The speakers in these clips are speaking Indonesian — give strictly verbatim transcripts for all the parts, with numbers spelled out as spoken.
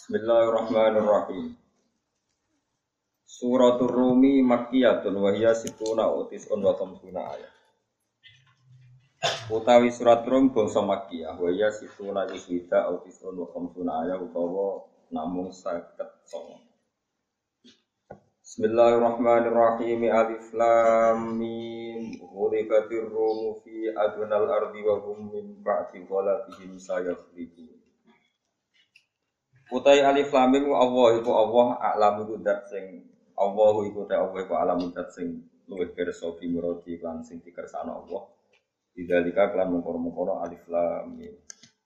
Bismillahirrahmanirrahim. Suratul Rumi Makkiyatun wa hiya situna utis'un wa khamsuna ayat. Utawi surat Rum bangsa Makkiyah wa hiya situna iswida utis'un wa khamsuna ayat utawa namung seket songo. Bismillahirrahmanirrahim. Alif Lam Mim. Ghulibatir Rum fi adnal ardi wa hum min ba'di ghalabihim sayaghlibun. Utai alif lam mim Allah iku Allah a'lamu iku zat sing Allah iku ta Allah iku alamu zat sing luwih pirsa bi muradi lan sing dikersakno Allah. Bidzalika kelan mengkono-mengkono alif lam mim.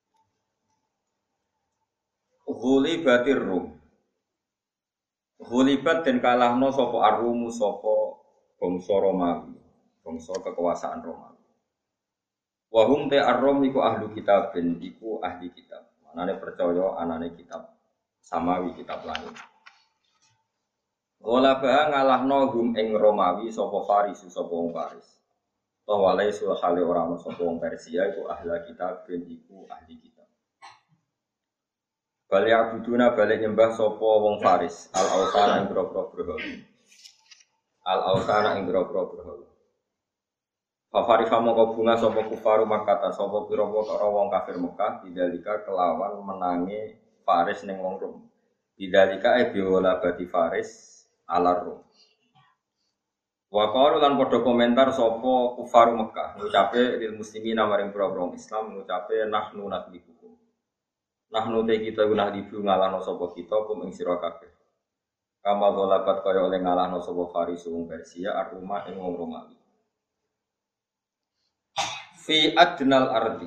Ghulibatir rum. Ghulibat den kalahno sapa arumu sapa bangsa Romawi, bangsa kekuasaan Romawi. Wa hum ta arrum iku ahli kitab ben iku ahli kitab. Anane percaya anane kitab samawi kitab langit. Ghalaba ngalahno hum ing Romawi sapa Faris sapa wong Faris. Tawalai sul hale ora ono sapa wong Persia iku ahli kitab ben iku ahli kitab. Bali abuduna balik nyembah sapa wong Faris al autana ing boro-boro berhala. Al autana ing boro-boro berhala. Fafari famo kau bunga sopo kufaru makata sopo piro-piro wong kafir Mekah bidalika kelawan menangi Faris ning wong Rum. Bidalika e biola bati Faris ala Rum. Wa qalu lan padha komentar sopo kufaru Mekah ngucape lil muslimin maring pira-pira Islam ngucape nahnu nadhibukum. Nahnu te kita guna dibu ngalahno sopo kita kum ing sira kabeh. Kamal golabat kaya oleh ngalahno sopo Faris wong Persia aruma ing wong Romawi. Fi adnal ardi.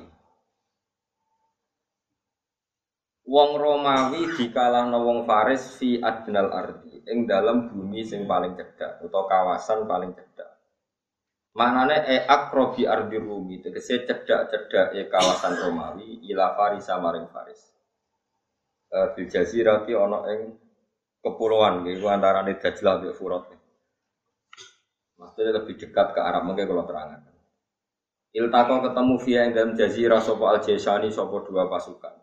Wong Romawi dikalahno wong Faris fi adnal ardi, ing dalam bumi sing paling cedhak utawa kawasan paling cedhak. Maknane e akrobi ardi Rumi, tegese cedhak-cedhake kawasan Romawi ila Faris maring Faris. E, bil jazirati ana ing kepulauan iku antarane Dajlah mbek Furat. Maksudnya lebih dekat ke Arab mungkin kalau terangan. Iltaqo ketemu via ing dalam jazirah sapa al-Jaisani sapa dua pasukan.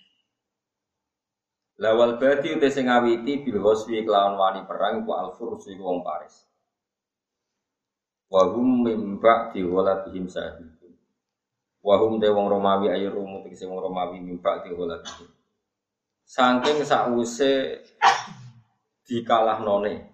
Lawal badi uti sing ngawiti bil ghuswi kelawan wani perang ku al-Furs iku wong Paris. Wa hum min ba'di ghalabihim sahibun. Wa hum te wong Romawi ayo rumu tegese wong Romawi min ba'di ghalabihim. Saking sakwise dikalahnone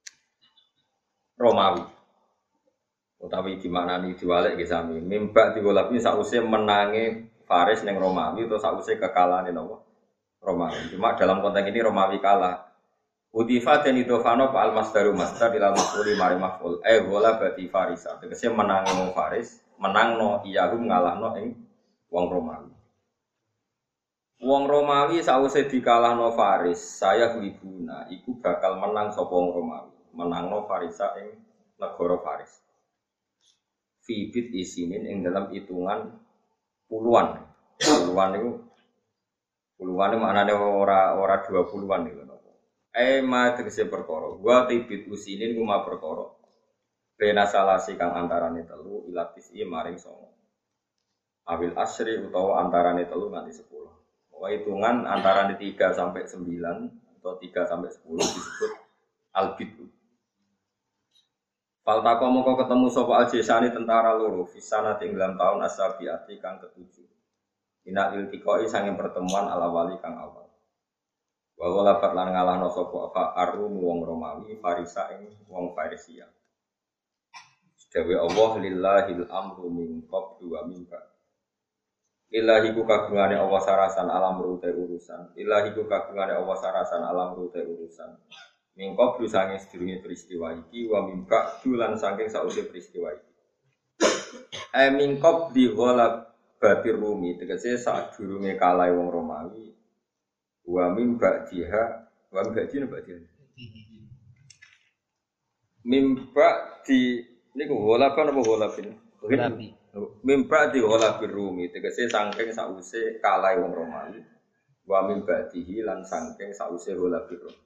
Romawi. Utawi gimana nih diwalek ke sami mimba digolapi sausé menangi Faris ning Romawi atau sausé kekalahan napa Romawi. Cuma dalam konteks ini Romawi kalah. Utifa dan idofano pa al masdaru masdar ila maf'uli mari maf'ul eh gola berarti Farisa. Tegese menangi wong Faris, menangno iyahum ngalahno ing wong Romawi. Wong Romawi sausé dikalahno Faris, saya libuna iku bakal menang sapa wong Romawi, menangno Farisa ing negara Faris. Fibit isinin yang dalam hitungan puluhan, puluhan itu, puluhan itu maknanya ora ora dua puluhan itu. Eh ma tegese perkara, gua tibit usinin gua perkara. Bena salasi kang antarane telu ilatis i maring songo. Awil asri utawa antarane telu nganti sepuluh. Pokoknya hitungan antarane tiga sampai sembilan atau tiga sampai sepuluh disebut albit. Faltaqo moko ketemu sapa al-Jaisani tentara loro fisana tinggalan tahun asabiati kang ketujuh. Ina iltiqoi sange pertemuan ala-wali kang awal. Wa walabat lan ngalahno sapa fa arum wong Romawi Farisa ing wong Persia. Dewe Allah lillahil amru min qablu wa min ba'd. Ilahi ku kagungane Allah sarasan alam rute urusan. Ilahi ku kagungane Allah sarasan alam rute urusan. Mingkop lu sange sedurunge peristiwa iki wa mimba dulan saking sausé peristiwa iki. Eh mingkop di ghalab batir Rumi tegese sadurunge kalah wong Romawi wa mimba diha wa mimba di napa dia. Mimba di niku ghalab kan apa ghalabin? Ghalab. Mimba di ghalabir Rumi tegese saking sausé kalah wong Romawi wa mimba dihi lan saking sausé ghalabir Rumi.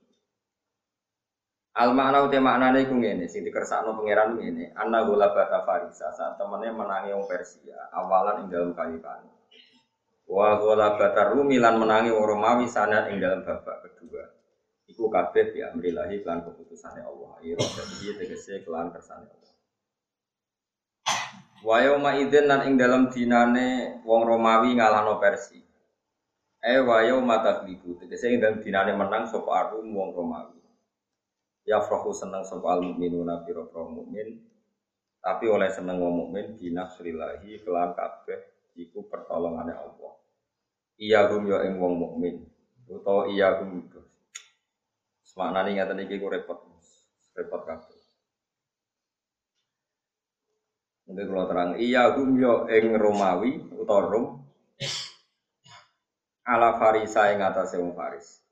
Al makna uti maknane iku ngene sing dikersakno pangeran ngene anna ghalabata Farisa saat temene menangi wong Persia awalan ing dalem kalipan Wa ghalabatar Rumi lan menangi wong Romawi sana ing dalam babak kedua. Iku kabeh ya amrilahi kelan keputusane Allah. Ira dadi tegese kelan kersane Allah. Wa yauma idzin lan ing dalam dinane wong Romawi ngalahno Persia. Eh wa yauma taglibu tegese ing dalam dinane menang sapa Arum wong Romawi. Ya frohu seneng sapa al mukminuna pira mukmin. Tapi oleh seneng wong mukmin binasrillahi kelan kabeh iku pertolongane Allah. Iya hum ya ing wong mukmin utawa iya hum itu. Maknane ngaten iki ku repot. Repot kabeh. Mungkin kalau terang iya hum ya ing Romawi utawa Rom ala farisa ing atase wong Faris.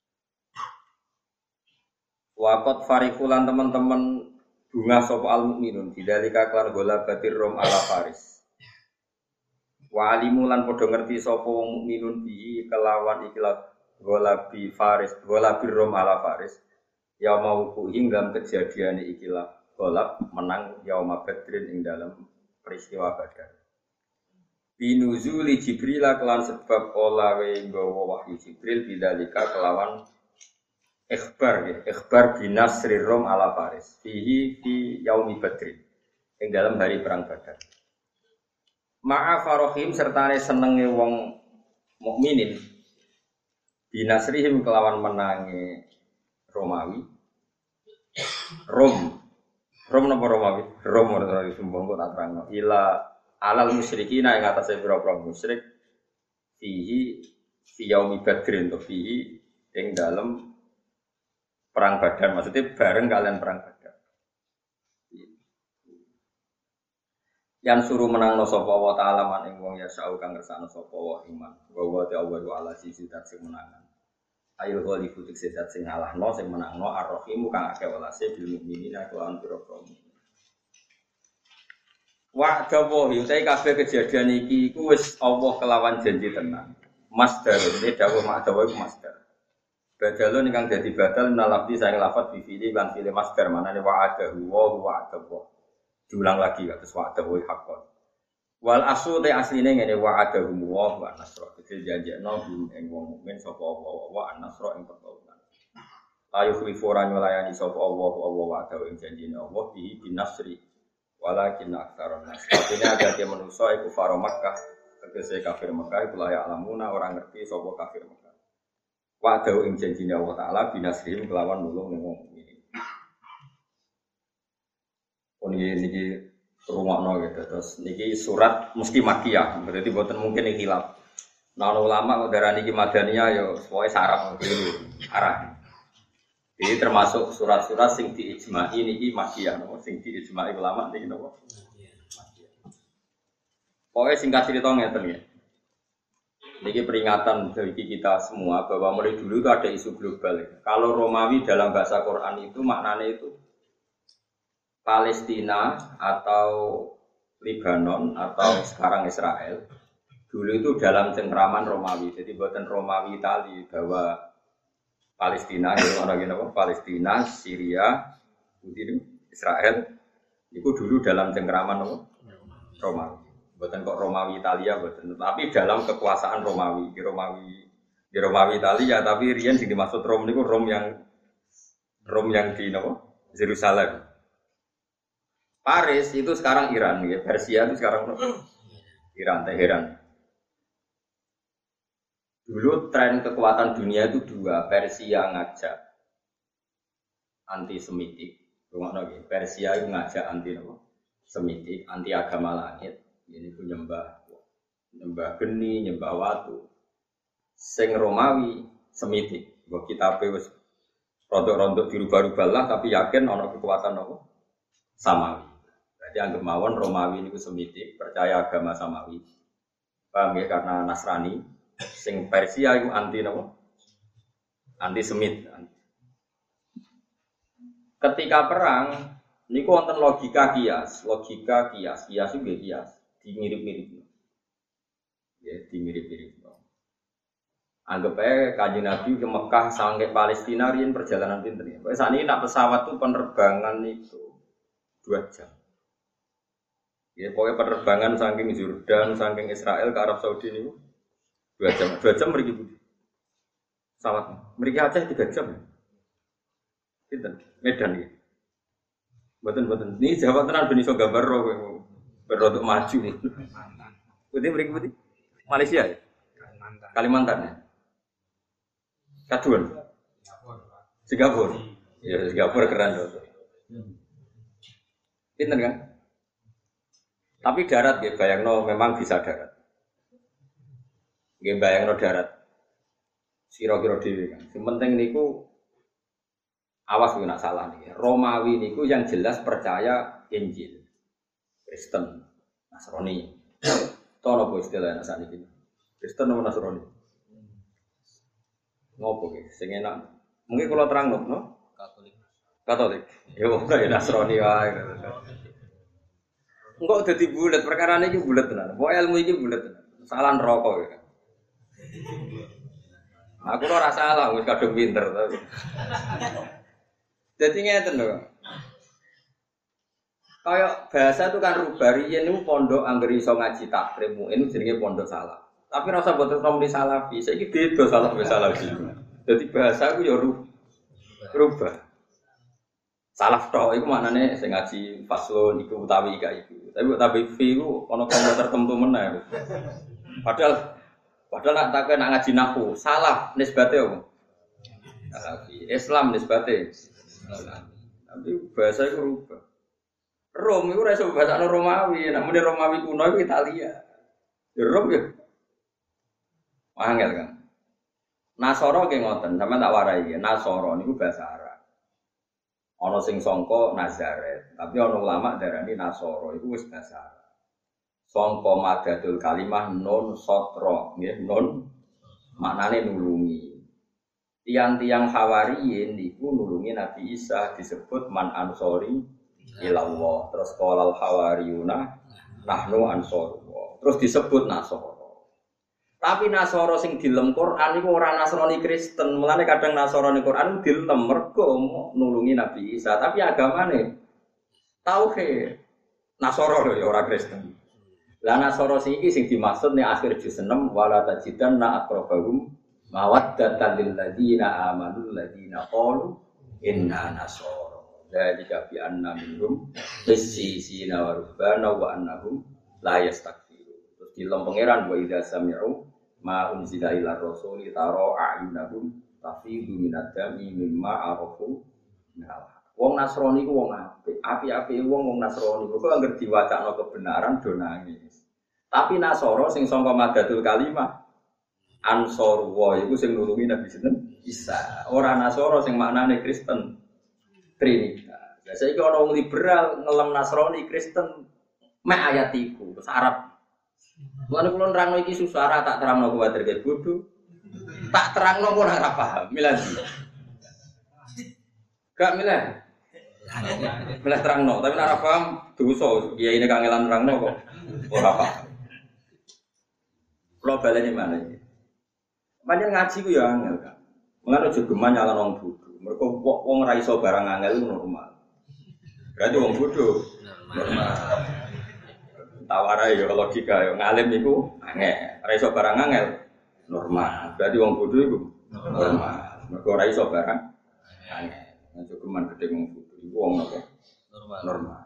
Waqat farikulan teman-teman bunga sapa al mukminun bidalika klan gola batir Rom ala Faris. Wa alimu lan padha ngerti sapa wong mukminun bi kelawan ikilah golabi Faris, golabi Rom ala Faris. Ya mau ku hingga kejadian ikilah golab menang yauma Badrin ing dalam peristiwa Badar. Binuzuli Jibril kelan sebab olawe nggawa wahyu Jibril bidalika kelawan ikhbar ya, ikhbar binasri Rom ala Faris. Fihi fi yaumi Badrin ing dalam hari perang Badar. Ma'a farohim sertane senenge wong mukminin binasrihim kelawan menangi Romawi Rom Rom napa Romawi Rom ora disumbang kok tak terangno ila alal musyrikina ing atase pira-pira musyrik fihi fi yaumi badrin to fihi ing dalem perang Badar maksudnya bareng kalian perang Badar. Yang suruh menang no sapa wa ta'ala man ing wong ya sa'u kang ngersakno sapa wa iman wa wa ta'ala wa ala sisi dat sing menangan ayo ghalifu tik sedat sing ngalahno sing menangno ar-rahim kang akeh welase bil mukminina kelawan pira-pira mukmin wa dawa yutai kabeh kejadian iki iku wis Allah kelawan janji tenan masdar iki dawuh mak dawa iku masdar badalun ingkang dadi badal nalafzi saking lafaz bi fi'li lan fi'li masdar manane wa'adahu wa wa'adahu diulang lagi kados wa'adahu haqqan. Wal asu te asline ngene wa'adahu wa wa nasra. Dadi janjekno ing wong mukmin sapa Allah wa an-nasra ing pertolongan. Ayo khlifuran melayani sapa Allah Allah wa'adahu ing janjine Allah bihi bin nasri. Walakin aktsarun nas. Artinya ada dia manusa iku faro Makkah, tegese kafir Makkah iku layak alamuna orang ngerti sapa kafir Makkah. Wa'adahu ing janjine Allah taala binasrihim kelawan nulung ning wong mukmin. Niki niki rumakno gitu terus niki surat mesti makiyah berarti boten mungkin iki hilaf. Nah ulama kok darani iki madaniyah ya pokoke saraf dulu arah. Jadi termasuk surat-surat sing diijma'i niki makiyah no sing diijma'i ulama niki napa? Makiyah. Pokoke singkat cerita ngeten ya. Niki peringatan bagi kita semua bahwa mulai dulu itu ada isu global. Kalau Romawi dalam bahasa Quran itu maknanya itu Palestina atau Lebanon atau sekarang Israel dulu itu dalam cengkraman Romawi. Jadi buatan Romawi Itali bahwa Palestina, orang apa? Palestina, Syria, Israel itu dulu dalam cengkraman Romawi. Buatan kok Romawi Italia, buatan. Tapi dalam kekuasaan Romawi di Romawi di Romawi Italia. Tapi rian sing dimaksud Rom itu Rom yang Rom yang di apa? Yerusalem. Paris itu sekarang Iran, ya. Persia itu sekarang Iran, Teheran. Dulu tren kekuatan dunia itu dua, Persia ngajak anti-Semitik, Persia itu ngajak anti Semitik, anti agama langit, ini pun nyembah, nyembah geni, nyembah watu. Sing Romawi Semitik, buat kita wis rontok-rontok dirubah-rubah lah, tapi yakin ono kekuatan apa? Samawi. Jadi anggap mawon Romawi ini Semitik, percaya agama Samawi. Paham ya? Karena Nasrani, sing Persia itu anti apa? Anti Semit. Ketika perang, niku wonten logika kias, logika kias, kias itu kias, dimirip-mirip. Ya, dimirip-mirip. Anggap aja Kanjeng Nabi ke Mekah sampai Palestina riyen perjalanan pinter ya. Saat ini nak pesawat tuh penerbangan itu dua jam. Ya, pokoknya penerbangan saking Jordan, saking Israel ke Arab Saudi ini Dua jam, dua jam mriki budi. Salat. Mriki Aceh tiga jam. Pinten? Medan iki. Mboten-mboten. Ini Jawa tenan ben iso gambar ro kowe. Berodok maju. Putih mriki putih. Malaysia ya? Kalimantan. Kalimantan ya. Kaduan. Singapura. Ya Singapura keren tuh. Pinten kan? Tapi darat ya bayangno memang bisa darat. Nggih bayangno darat. Sira-kira dhewe kan. Sing penting niku awas nek nak salah niki. Romawi niku yang jelas percaya Injil. Kristen, Nasrani. Tono apa istilahnya sakniki? Kristen atau Nasrani? Ngopo ki? Sing enak. Mungkin kalau terang no? Katolik. Katolik. Ya ora ya Nasrani wae. Engko dadi bulet perkara niki bulet tenan. Pokoke ilmu iki bulet tenan. Salah neraka ya. Aku ora salah, wis kadung pinter to. Dadi ngeten lho. Kayak bahasa itu kan rubah. Riyen niku pondok anggere iso ngaji takrim, ini jenenge pondok salah. Tapi rasa boten nomor salafi, saiki beda salah be salafi. Dadi bahasa ku ya rubah. Salaf tok iku maknane sing ngaji faslun iku utawi gak iku. Tapi utawi fi ku ana kanggo tertentu meneh. Padahal Padahal nak tak nak ngaji nahwu, salaf nisbate apa? Salafi. Islam nisbate Islam. Tapi bahasa itu rubah. Rom itu ora iso bahasane Romawi, nek muni Romawi kuno itu Italia. Ya Rom ya. Angel kan. Nasara ki ngoten, sampeyan tak warai ya. Nasara niku bahasa Arab. Ana sing sangka Nazaret, tapi ana ulama darani Nasara iku wis bahasa Arab. Sangka madadul kalimah nun sotra, nggih nun maknane nulungi. Tiang-tiang Hawariyin niku nulungi Nabi Isa disebut man ansori ilallah. Terus qalal hawariyuna nahnu ansorullah. Terus disebut Nasara. Tapi Nasara sing dilem Quran iku ora Nasrani Kristen. Mulane kadang Nasrani Quran dilem mergo nulungi Nabi Isa, tapi agamane tauhid. Nasara lho ya ora Kristen. Lah Nasara sing iki sing dimaksud ning akhir juz enam wala tajidanna aqrabahum mawaddatan lil ladina amanu ladina qalu inna nasara. Dzalika bi anna minhum qissisina wa rubbana wa annahum la yastakbirun. Terus dilem pangeran wa idza sami'u ma unzila ila rasuli tara a'yunahum tafidu minad dami mimma arafu minal. Wong Nasrani ku wong apik, apik-apike wong wong Nasrani kok anggere diwacana kebenaran do nangis. Tapi Nasara sing sangka madadul kalimah Ansorullah iku sing nulungi Nabi sinten Isa. Ora Nasara sing maknane Kristen Trinitas. Lah saiki ana wong liberal ngelem Nasrani Kristen mek ayat iku terus Arab. Mulane kula nerangno iki susah ra tak terangno kuwatir ge bodho. Tak terangno ora ora paham. Milih. Gak milih. Belah terangno, tapi nek ora paham dosa. Kiyaine kangelan terangno kok ora paham. Kulo baleni mana iki? Pancen ngaji ku ya angel kan. Mulane aja geman nyalon wong bodho. Mergo wong ora iso barang angel normal. Berarti wong bodho normal. Tawarai ya logika ya ngalim iku angel. Ora iso barang angel normal. Berarti wong bodho iku normal. Mergo ora iso barang angel. Aja geman gedhe wong bodho. Iku wong apa? Normal. Normal.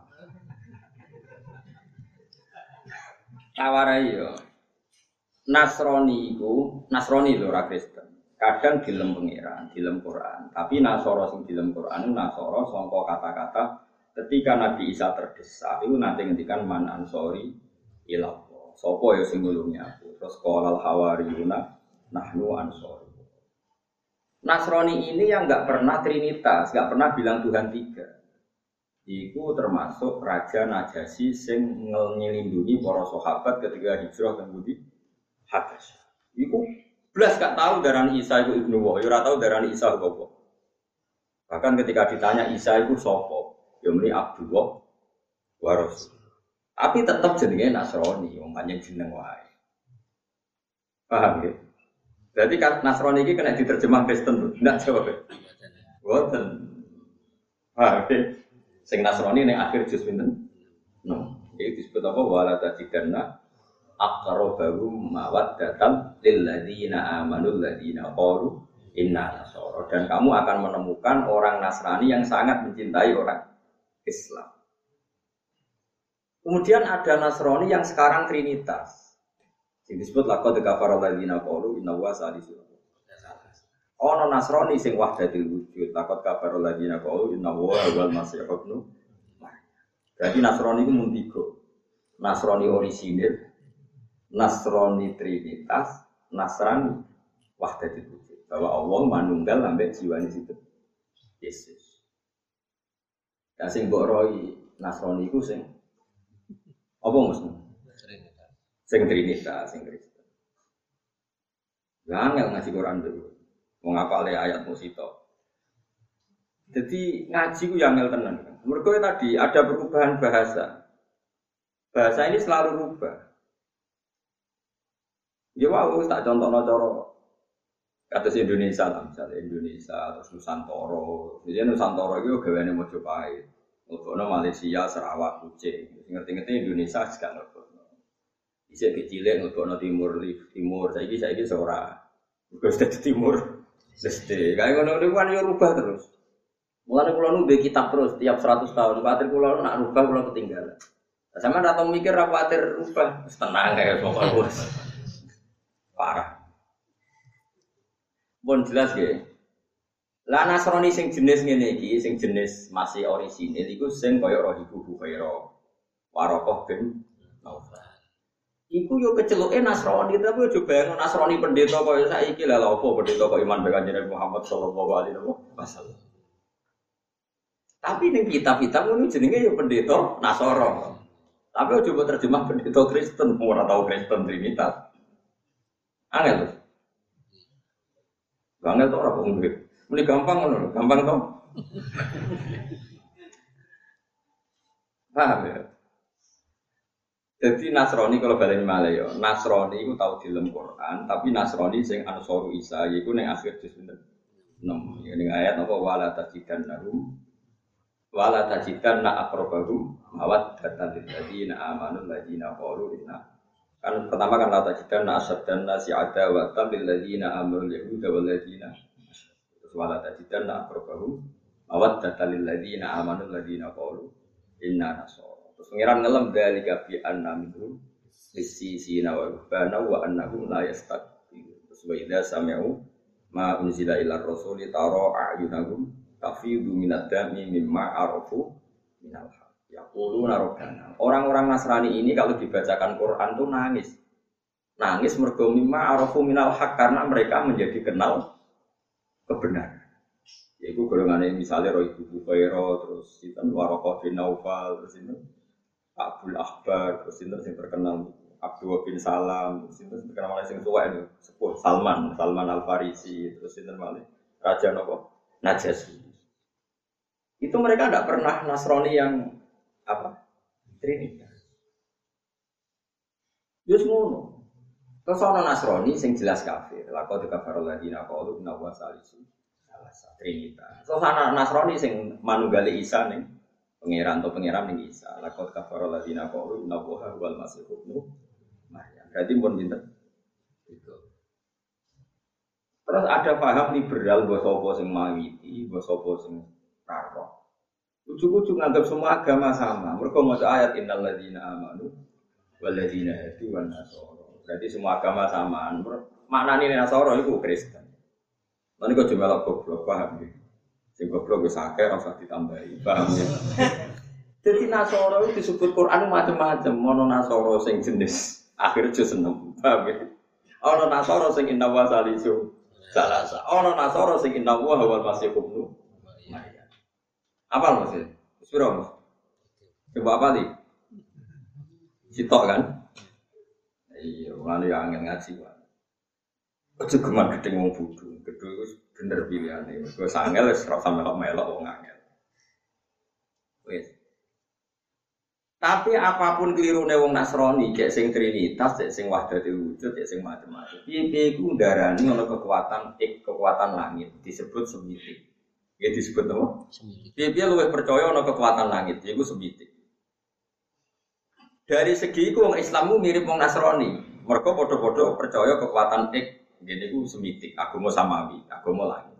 Tawarai yo. Nasrani iku, Nasrani lho ora Kristen. Kadang dilem pangeran, dilem Quran. Tapi Nasara sing dilem Quran Nasara sangka kata-kata ketika Nabi Isa terdesak itu nanti ngendikan man ansori ilallah. Sapa ya sing nulungi aku? Terus qalal hawariyuna nahnu ansori. Nasrani ini yang enggak pernah trinitas, enggak pernah bilang Tuhan tiga. Iku termasuk Raja Najasyi sing ngelindungi para sahabat ketika hijrah ke Budi Habasyah. Iku blas gak tahu darani Isa iku Ibnu Wah, ora tahu darani Isa apa. Bahkan ketika ditanya Isa iku sapa, ya muni Abdullah wa Rasul. Tapi tetap jenenge Nasrani, wong panjang jeneng wae. Paham ya? Berarti kan Nasrani iki kena diterjemah Kristen lho, ndak jawab. Boten. Paham ya? Sing Nasrani ning akhir juz pinten? No. Iki disebut apa wala tajidanna aqrabahum mawaddatan lil ladzina amanu ladzina qalu inna nasara. Dan kamu akan menemukan orang Nasrani yang sangat mencintai orang Islam. Kemudian ada Nasrani yang sekarang Trinitas. Yang disebut laqad kafara alladzina qalu inna huwa salisu. Ono Nasrani sing wahdatul wujud. Laqad kafara alladzina qalu inna huwa wal masih ibnu. Berarti Nasrani itu muntigo. Nasrani orisinil, Nasrani Trinitas, Nasrani wahdatul wujud. Bahwa Allah manunggal sampai jiwane situ. Yesus. Ya sing mbok roi Nasrani iku sing apa maksudnya? Trinitas. Sing Trinitas, sing Kristen. Lah angel ngaji Quran dulu. Mau ngapale ayat musito. Jadi ngaji ku yang angel tenan. Mergo tadi ada perubahan bahasa. Bahasa ini selalu rubah. Ya wow, tak contohno cara kados Indonesia lah, misalnya Indonesia terus Nusantara. Jadi Nusantara itu gaweane Mojopahit. Ngobokno Malaysia, Sarawak, Kucing. Ngerti-ngerti Indonesia gak ngobokno. Isih kecilek ngobokno Timur, Timur. Saiki saiki ora. Wis dadi Timur. Leste. Kae ngono-ngono kan yo rubah terus. Mulane kula nu mbek kitab terus tiap seratus tahun. Kuwatir kula nak rubah kula ketinggalan. Sampeyan ra tau mikir ra kuwatir rubah. Tenang ae pokoke wis. Parah. Pun jelas nggih. Lah Nasrani sing jenis ngene iki, sing jenis masih orisinil iku sing kaya Rahibu Buhaira. Warokoh bin Naufal. Iku yo keceluke Nasrani, tapi yo bayangno Nasrani pendeta kaya saiki lha apa pendeta kok iman be Kanjeng Muhammad sallallahu alaihi wasallam. Tapi ning kitab-kitab ngono jenenge yo pendeta Nasara. Tapi ojo mbok terjemah pendeta Kristen, ora tau Kristen Trinitas. Angel. Angel to ora kok nggih. Ini gampang ngono, gampang toh. Paham ya? Jadi Nasrani kalau baleni malih ya, Nasrani itu tahu di dalam Quran, tapi Nasrani sing Ansaru Isa iku ning akhir juz enam. Ya ning ayat apa wala tajidannahum wala tajidanna aqrabahum mawaddatan lil ladzina amanu ladzina qalu inna. Kan pertama kan la tajidanna asaddan nasi adawatan lil ladzina amanu yahuda wal ladzina wala tajidanna aqrabahum mawaddatan lil ladzina amanu ladzina qalu inna nasara. Terus pengiran ngelem dalika bi anna minhum lisisina wa bana wa annahum la yastaqbilun. Terus wa idza sami'u ma unzila ila rasuli tara a'yunahum tafidu minad dami mimma arafu minal haq. Yaquluna rabbana. Orang-orang Nasrani ini kalau dibacakan Quran tuh nangis. Nangis mergo mimma arafu minal haq karena mereka menjadi kenal kebenaran. Yaitu golongannya misalnya Roy Bubukairo, terus itu Warokoh bin Naufal, terus itu Abdul Akbar, terus itu yang terkenal Abdul bin Salam, terus itu terkenal malah yang tua itu sepuh Salman, Salman Al Farisi, terus itu malah Raja Nopo Najasyi. Itu mereka tidak pernah Nasrani yang apa Trinitas. Yus ngono. Terus ana Nasrani sing jelas kafir. Laqad kafara alladziina qalu inna huwa salisu salasa Trinitas. Terus ana Nasrani sing manunggali Isa ning pangeran to pangeran ning Isa. Laqad kafara alladziina qalu inna huwa wal masih ibnu Maryam. Berarti pun pinter. Itu. Terus ada paham liberal mbok sapa sing mawiti, mbok sapa sing karo. Ujug-ujug nganggap semua agama sama. Mereka maca ayat innal ladzina amanu wal ladzina hadu wan nasara. Berarti semua agama samaan. Maknane Nasara iku Kristen. Lan iku cuma melok goblok, paham ya? Sing goblok wis akeh ora usah ditambahi, paham ya? Jadi Nasara itu disebut Quran macam-macam. Ono Nasara sing jenis akhir juz enam, paham ya? Ono Nasara sing inna wa salisu salasa. Ono Nasara sing inna wa wal masih ibnu Maryam. Apa maksudnya? Sepiro mas? Coba apa nih? Sitok kan? Iya, lalu yang angin ngaji kan. Ojo geman gedeng wong bodho. Gedhe iku bener pilihane. Mergo sangel wis ora sampe melok wong angel. Wis. Tapi apapun kelirune wong Nasrani, cek sing Trinitas, cek sing wahdatul wujud, cek sing macam-macam. Piye-piye iku ndarani ana kekuatan ik, kekuatan langit disebut semitik. Ya disebut apa? Semitik. Piye-piye luwih percaya ana kekuatan langit, iku semitik. Dari segi iku wong Islammu mirip wong Nasrani. Mergo padha-padha percaya kekuatan ik, ngene iku semitik, agama samawi, agama langit.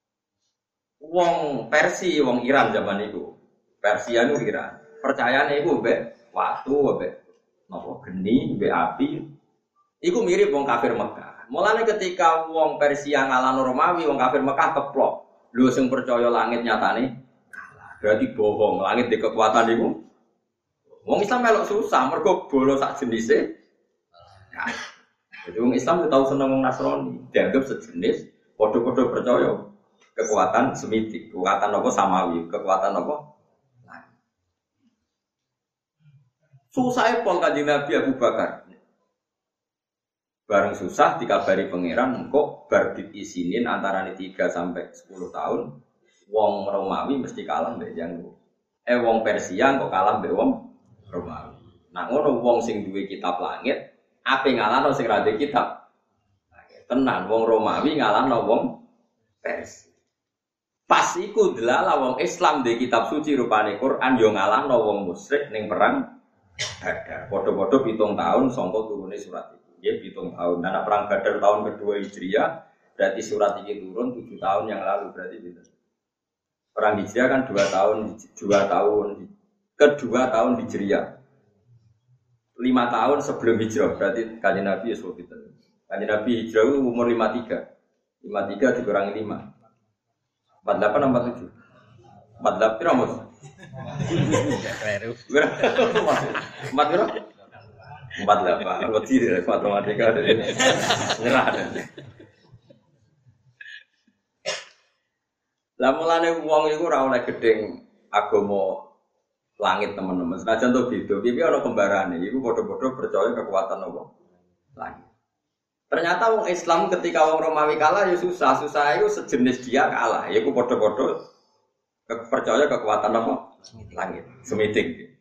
Wong Persia, wong Iran zaman itu. Persia itu Iran. Percayane iku mbek watu, mbek napa geni, mbek api. Iku mirip wong kafir Mekah. Mulane ketika wong Persia ngalahno Romawi, wong kafir Mekah keplok. Lho sing percaya langit nyatane kalah. Berarti bohong, langit di kekuatan iku. Wong Islam melok susah, mergo bolo sak jenise. Nah, jadi wong Islam tahu seneng wong Nasrani, dianggap sejenis, padha-padha percaya kekuatan semitik, kekuatan apa samawi, kekuatan apa? Nah. Susah pol Kanjeng Nabi Abu Bakar. Bareng susah dikabari pangeran kok bar diisinin antarané tiga sampai sepuluh tahun wong Romawi mesti kalah mbek janggo. Eh wong Persia kok kalah mbek wong Romawi. Nah ngono wong sing duwe kitab langit ape ngalahno sing ra duwe kitab. Tenan wong Romawi ngalahno wong Persia. Pas iku delala wong Islam duwe kitab suci rupane Quran yo ngalahno wong musyrik ning perang Badar. Padha-padha pitung tahun sangka turune surat iki. Nggih pitung tahun. Nah perang Badar tahun kedua Hijriah berarti surat iki turun tujuh tahun yang lalu berarti gitu. Perang Hijriah kan dua tahun dua tahun kedua tahun Hijriah. lima tahun sebelum hijrah berarti Kanjeng Nabi Yusuf itu. Kanjeng Nabi hijrah umur lima puluh tiga. lima puluh tiga dikurangi lima. empat puluh delapan empat puluh tujuh. empat puluh delapan Amos. empat puluh empat puluh delapan. Wedi dari matematika dari nyerah. Lah mulane wong iku ora oleh gedeng agama langit teman-teman. Senajan to beda, piye ana kembarane. Iku padha-padha percaya kekuatan apa? Langit. Ternyata wong Islam ketika wong Romawi kalah ya susah, susah itu sejenis dia kalah. Iku padha-padha percaya kekuatan apa? Langit. Semitik.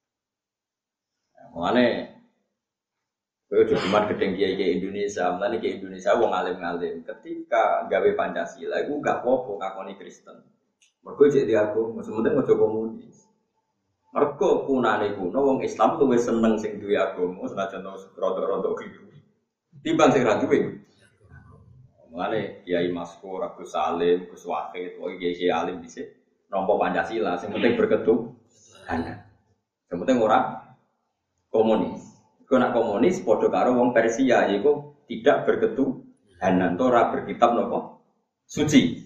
Mulane kowe cuma gedeng kiai Indonesia, mulane kiai Indonesia wong alim-alim. Ketika gawe Pancasila iku gak apa-apa ngakoni Kristen. Mergo cek diaku, sementing aja komunis. Mergo punane kuno wong Islam luwih seneng sing duwe agama senajan rada-rada keliru. Timbang sing ra duwe. Mulane Kiai Maskur, Agus Salim, Gus Wahid, kok kiai alim dhisik nampa Pancasila, sing penting berketuhanan. Sing penting ora komunis. Iku nak komunis padha karo wong Persia yaiku tidak berketuhanan, ora berkitab napa suci.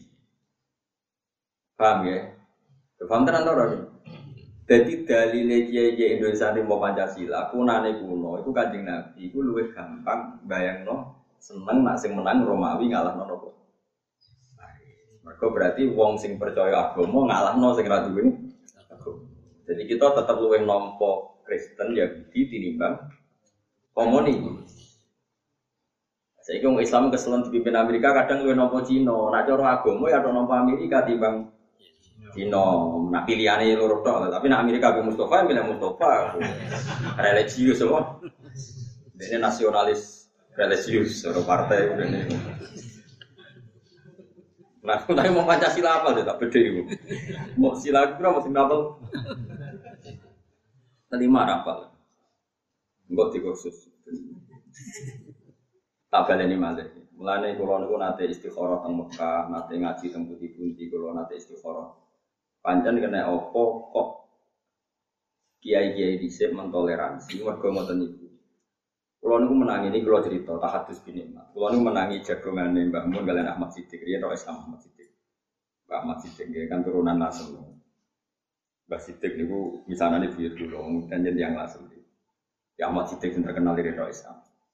Paham ya? Paham tenan ora? Jadi dalile kiai-kiai Indonesia ini mau Pancasila, punane kuno, itu Kanjeng Nabi, itu luwih gampang bayangno seneng nak sing menang Romawi ngalahno napa. Mergo berarti wong sing percaya agama ngalahno sing ra duwe agama. Jadi kita tetap luwih nampa Kristen Yahudi tinimbang komunis. Saiki wong Islam keselen dipimpin Amerika kadang luwih nampa Cina, nak cara agama ya nampa Amerika timbang Cina, nak pilihane loro tok, tapi nak Amerika be Mustafa, milih Mustafa. Religius semua. Ini nasionalis religius, seorang partai ini. Nah, aku tadi mau Pancasila apa sih? Tak beda itu. Mau sila kira mau sila apa? Terima apa? Enggak dikursus. Tak baleni malih. Mulane kula niku nate istikharah teng Mekah, nate ngaji teng Putih-Putih, kula nate istikharah. Pancen kena opo kok kiai-kiai dhisik mentoleransi mergo ngoten niku. Kula niku menangi niki kula cerita tahadus bin nikmat. Kula niku menangi jagongane Mbah Mun kalian Ahmad Siddiq, riyen ora Islam Ahmad Siddiq. Mbah Ahmad Siddiq kan turunan Nasr. Mbah Siddiq niku misanane buyut kula dan yang Nasr. Ya Ahmad Siddiq yang terkenal di Islam.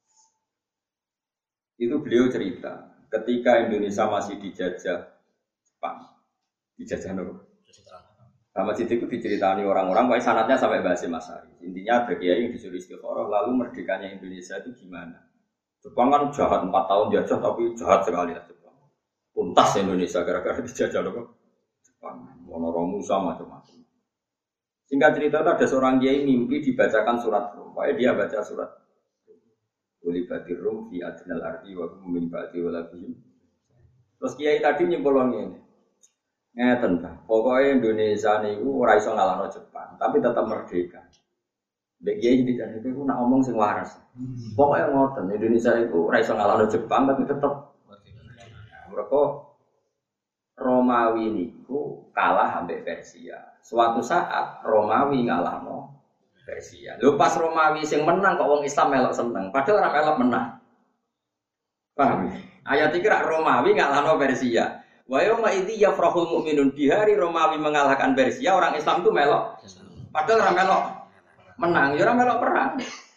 Itu beliau cerita ketika Indonesia masih dijajah Jepang. Dijajah nopo? Ahmad Siddiq itu diceritani orang-orang, pokoknya sanatnya sampai bahasa Masari. Intinya ada kiai yang disuruh istikharah, lalu merdekanya Indonesia itu gimana? Jepang kan jahat empat tahun jajah, tapi jahat sekali lah Jepang. Tuntas Indonesia gara-gara dijajah loh Jepang. Monoromu sama macam-macam. Singkat cerita itu ada seorang kiai mimpi dibacakan surat Rum. Pokoknya dia baca surat Ulibatir Rum fi adnal ardi wa hum min ba'di walabihim. Terus kiai tadi nyimpulane ini. Ngeten ta, pokoknya Indonesia niku ora iso ngalahno Jepang, tapi tetap merdeka. Mbek kiai dikan itu nak ngomong sing waras. Pokoknya ngoten Indonesia itu ora iso ngalahno Jepang tapi tetep mereka Romawi niku kalah ambek Persia. Suatu saat Romawi ngalahno Persia. Lho pas Romawi sing menang kok wong Islam melok seneng, padahal ora melok menang. Paham? Ayat iki rak Romawi ngalahno Persia. Wa yauma idzi yafrahul mu'minun, di hari Romawi mengalahkan Persia, orang Islam itu melok. Padahal ora melok menang, ya ora melok perang.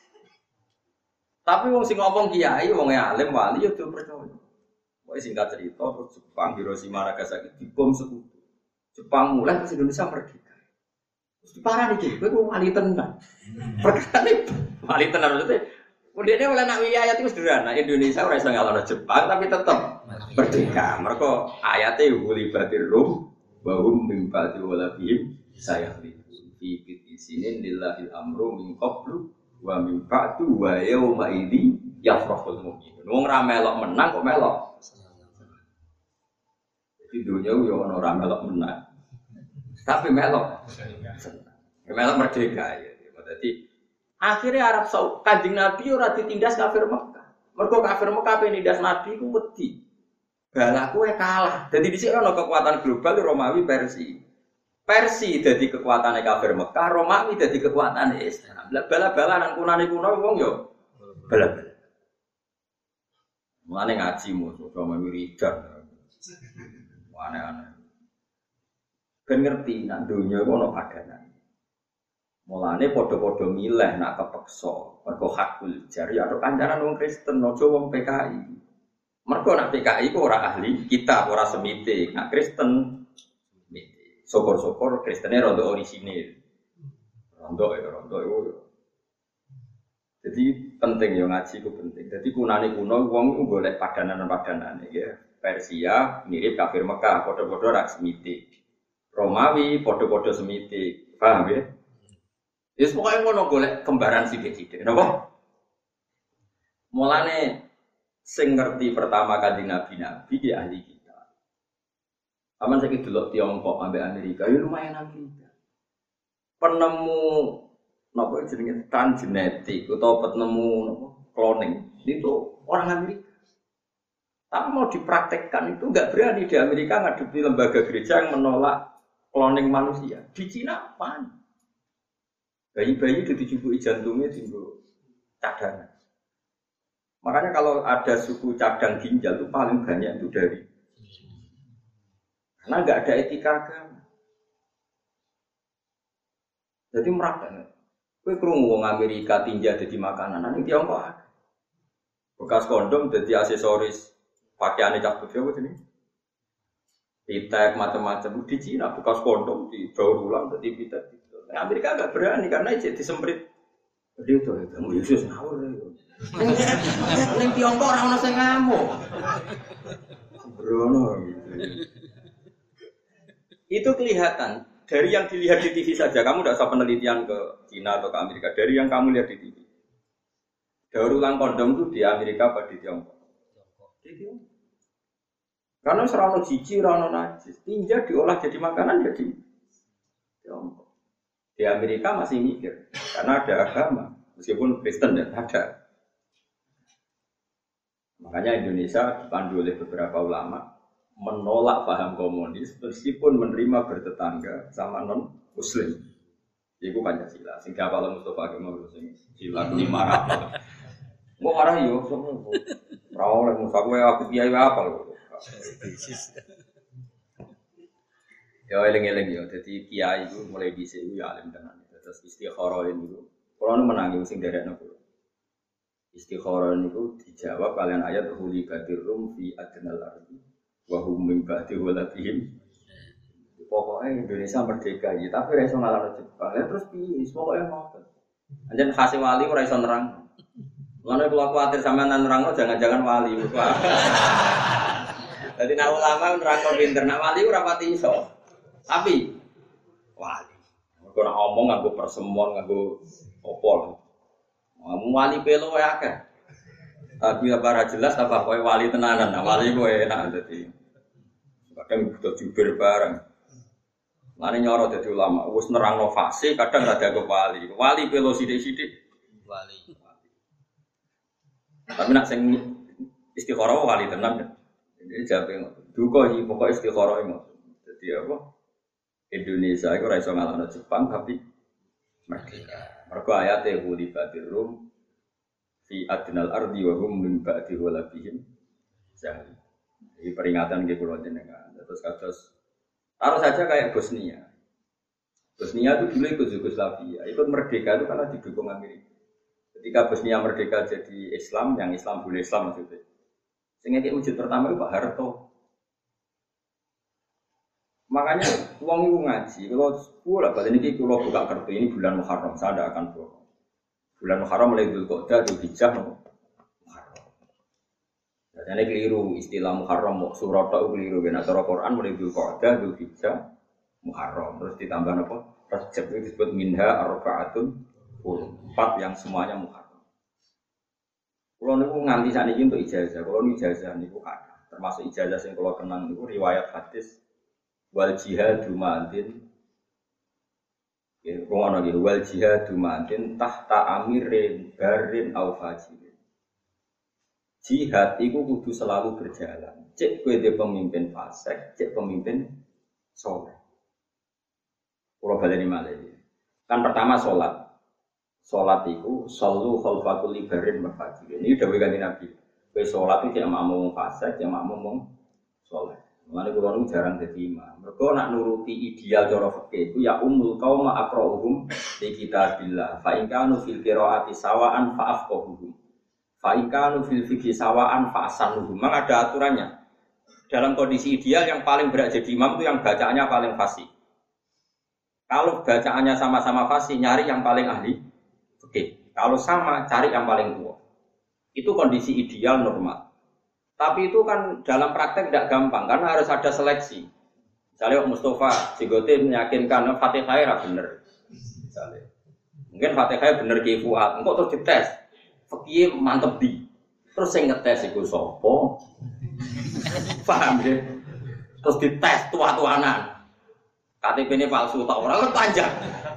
Tapi wong sing ngomong kiai, wong alim wali ya do percaya. Pokoke singkat cerita terus Jepang Hiroshima Nagasaki dibom sekutu. Jepang mulai terus Indonesia merdeka. Terus diparani iki, kowe wali tenan. Perkara wali tenan maksudnya Kemudian oleh nak ayat itu sederhana. Indonesia ora iso ngalahno Jepang tapi tetap merdeka. Mereka ayatnya hulibatir rum wa hum min ba'di walabihim sayakhlifun fi sinin lillahil amru min qablu wa min ba'du wa yauma idzi yafrahul mu'minun. Wong ra melok menang kok melok. Di dunia yo ono ra melok menang. Tapi melok. Melok merdeka ya. Berarti akhirnya Arab Saudi, Kanjeng Nabi ora ditindas kafir Mekah. Mergo kafir Mekah penindas Nabi ku wedi. Balaku e kalah. Dadi dhisik ana kekuatan global Romawi Persia. Persia dadi kekuatane kafir Mekah, Romawi dadi kekuatane Islam. Lah bala-balanan kunane kuno wong yo bala-bala. Mulane ngaji musuh sama wiridan. Aneh-aneh. Ben ngerti nang donya ku ana padanan. Mulane padha-padha milih nak kepeksa, mergo hakul jari atau kancanan wong Kristen, aja wong P K I. Mergo nak P K I ku ora ahli kitab, ora semite, nak Kristen semite. Syukur-syukur Kristene rada orisinil. Rondo ya, rondo iku. Jadi penting ya ngaji ku penting. Jadi kunane kuno wong iku golek padanan-padanane ya. Persia mirip kafir Mekah, padha-padha rak semite. Romawi padha-padha semite. Paham ya? Yes, pokoknya ngono golek kembaran sithik-sithik. Napa? Mulane sing ngerti pertama Kanjeng Nabi-nabi ki ahli kita. Aman saiki delok Tiongkok ambek Amerika, ya lumayan ahli kita. Penemu napa jenenge transgenetik utawa penemu napa cloning itu orang Amerika. Tapi mau dipraktekkan itu enggak berani di Amerika ngadepi lembaga gereja yang menolak cloning manusia. Di Cina apa? Bayi-bayi itu dicubuki jantungnya timbul cadangan. Makanya kalau ada suku cadang ginjal itu paling banyak itu dari karena nggak ada etika agama. Jadi merata. Kue kerungu wong Amerika tinja jadi makanan, nanti Tiongkok ada. Bekas kondom jadi aksesoris pakaiannya cak putih apa jenis? Pitek macam-macam di Cina bekas kondom di daur ulang jadi pitek. Nah, Amerika agak berani karena itu disemprit. Dia itu kamu Yesus ngawur. Neng Tiongkok orang orang saya ngamuk. Sembrono. Itu kelihatan dari yang dilihat di T V saja. Kamu tidak usah penelitian ke Cina atau ke Amerika. Dari yang kamu lihat di T V. Daur ulang kondom itu di Amerika apa di Tiongkok? Di Tiongkok. Karena serana jijik, serana najis. Tinja diolah jadi makanan jadi Tiongkok. Di Amerika masih mikir, karena ada agama, meskipun Kristen dan ada. Makanya Indonesia dipandu oleh beberapa ulama menolak paham komunis, meskipun menerima bertetangga sama non Muslim. Iku Pancasila. Sehingga kalau Mustafa Kemal sing sila lima ratus. Mau marah yo, semua. Rawol yang Mustafa aku kiai apa loh. Ya eling-eling ya, jadi kiai itu mulai dhisik ya alim tenan. Terus istikharah itu, kalau menangi sing derekno kulo. Istikharah itu dijawab kalian ayat huli batir rum fi adnal ardi wa hum min ba'di walabihim. Pokoknya Indonesia merdeka ya, tapi ora iso ngalahno Jepang. Ya terus piye? Pokoke ngoten. Anjen khase wali ora iso nerang. Lan kula kuwatir sampean nerangno jangan-jangan wali. Dadi nek ulama nerangno pinter, nek wali ora pati iso. Tapi wali, kalau nak omong nganggo persemon, nganggo opol, ngomong wali pelo ya kan? Tapi apa jelas apa kau wali tenanan, nah wali kau enak jadi. Kadang butuh jubir bareng. Lane nyoro dadi ulama, wis nerangno fase, kadang rada ke wali. Wali pelo sithik-sithik Wali. Tapi nak sing istikharah wali tenan. Jadi jabe duka iki pokoke istikharah ngono. Dadi apa? Indonesia iku ora iso ngalahno Jepang tapi merdeka. Mergo ayate huli batir rum fi adnal ardi wa hum min ba'di walabihim jahil. Ini peringatan ke pulau jenengan. Terus kados taruh saja kayak Bosnia. Bosnia itu dulu ikut Yugoslavia, ikut merdeka itu karena didukung Amerika. Ketika Bosnia merdeka jadi Islam, yang Islam boleh Islam maksudnya. Sehingga kayak wujud pertama itu Pak Harto. Makanya uang itu ngaji. Kalau sepuluh lah, ini kalau buka kartu ini bulan Muharram, saya tidak akan bohong. Bulan Muharram mulai Dzulqa'dah, Dzulhijjah, Muharram. Jadi keliru istilah Muharram, surat itu keliru. Karena cara Quran mulai Dzulqa'dah, Dzulhijjah, Muharram. Terus ditambah apa? Rajab itu disebut minha arba'atun empat yang semuanya Muharram. Kalau niku nganti saat ini untuk ijazah, kalau ini ijazah niku ada. Termasuk ijazah yang kalau kenang niku riwayat hadis wal jihadu ma'adin. Ya, ngono iki wal jihadu ma'adin tahta amirin barin au fajirin. Jihad itu kudu selalu berjalan. Cek kowe de pemimpin fasik, cek pemimpin saleh. Kalau baleni malih. Kan pertama salat. Salat itu sallu khalfakul libarin mafajirin. Ini dawuh kanjeng Nabi. Kowe salat iki cek makmum fasik, cek makmum wong saleh. Mulane kula nu jarang dadi imam. Mergo nak nuruti ideal cara fikih iku ya ummul qauma aqra'uhum li kitabillah. Fa in kanu fil qiraati sawaan fa afqahuhum. Fa in kanu fil fiqhi sawaan fa asanuhum. Memang ada aturannya. Dalam kondisi ideal yang paling berat jadi imam itu yang bacaannya paling fasih. Kalau bacaannya sama-sama fasih, nyari yang paling ahli fikih. Kalau sama, cari yang paling tua. Itu kondisi ideal normal. Tapi itu kan dalam praktek tidak gampang karena harus ada seleksi. Misalnya Mustafa Jigote meyakinkan Fatihah era bener. Misalnya, mungkin Fatihah bener Ki Fuad. Engkau terus dites, fikih mantep di. Terus saya ngetes itu sopo, paham ya? Terus dites tua-tuanan. K T P ini palsu tak orang kan panjang.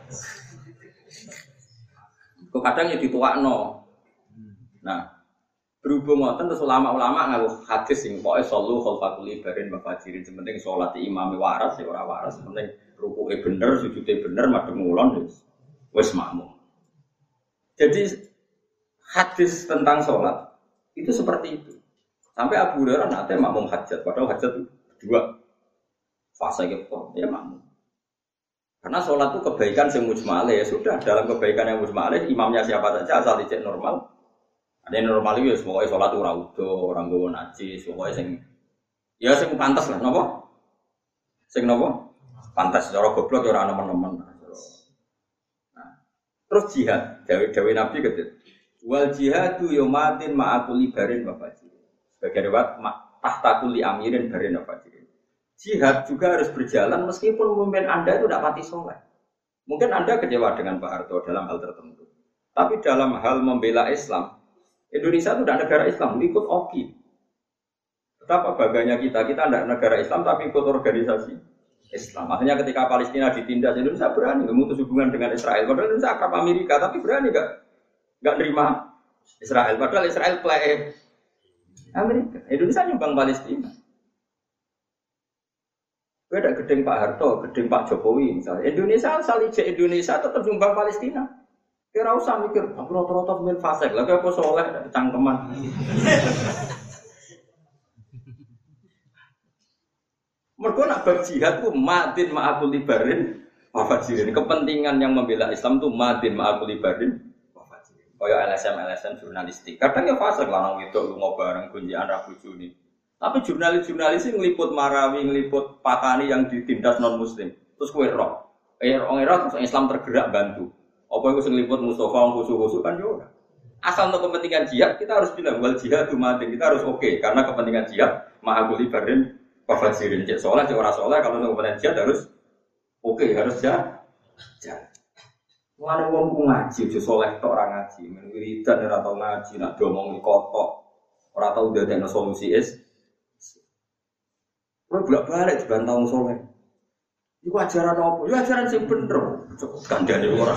Kok kadang ya dituakno. Nah. Berhubung ngoten terus ulama-ulama ngaku hadis sing pokoke sallu khalfakul libarin mafajirin penting salat imame waras ya ora waras penting rukuke bener sujude bener madhep ngulon wis wis makmum. Jadi hadis tentang salat itu seperti itu. Sampai Abu Hurairah nate makmum hajat padahal hajat dua fase gitu ya makmum. Karena salat itu kebaikan sing mujmalah ya sudah dalam kebaikan yang mujmalah imamnya siapa saja asal dicek normal. Ada yang normal itu, pokoknya sholat ora udo, orang gowo najis, pokoknya sing, ya sing pantas lah, nopo, sing nopo, pantas, cara goblok ya orang nemen-nemen. Nah, terus jihad, Dawi Nabi gitu, wal jihadu yomatin ma'akuli barin bafaji, sebagai lewat tahtakuli amirin barin bafaji. Jihad juga harus berjalan meskipun pemimpin anda itu tidak pati sholat. Mungkin anda kecewa dengan Pak Harto dalam hal tertentu, tapi dalam hal membela Islam. Indonesia itu tidak negara Islam, ikut O K I. Betapa bangganya kita, kita tidak negara Islam tapi ikut organisasi Islam. Makanya ketika Palestina ditindas, Indonesia berani memutus hubungan dengan Israel. Padahal Indonesia akrab Amerika, tapi berani nggak nggak nerima Israel. Padahal Israel play Amerika. Indonesia nyumbang Palestina. Beda gedeng Pak Harto, gedeng Pak Jokowi misalnya. Indonesia asal ijek Indonesia tetap nyumbang Palestina. Kira usah mikir, aku rata-rata pemain fasik, lagi aku soleh, ada cangkeman. Mereka nak berjihad itu madin ma'akul libarin wafajirin. Kepentingan yang membela Islam itu madin ma'akul libarin wafajirin. Kaya L S M L S M jurnalistik. Kadang ya fasik, lanang itu lu ngobareng kunjian Rabu Juni. Tapi jurnalis-jurnalis ini ngeliput Marawi, ngeliput Patani yang ditindas non-muslim. Terus kue roh. Eh, orang Irak terus Islam tergerak bantu. Apa itu seliput Mustafa khusus-khusus kan juga. Asal untuk kepentingan jihad kita harus bilang wal jihad umatin kita harus oke okay, karena kepentingan jihad ma'akuli barin wafajirin cek soleh cek ora soleh kalau untuk kepentingan jihad harus oke okay, harus jalan. Jalan. Mulane wong ku ngaji aja soleh tok ora ngaji, men wiridan ora tau ngaji nak domong kotok ora tau ndadekno solusi is. Ora bolak-balik dibantah wong soleh. Iku ajaran apa? Ya ajaran sing bener. Kandhane ora.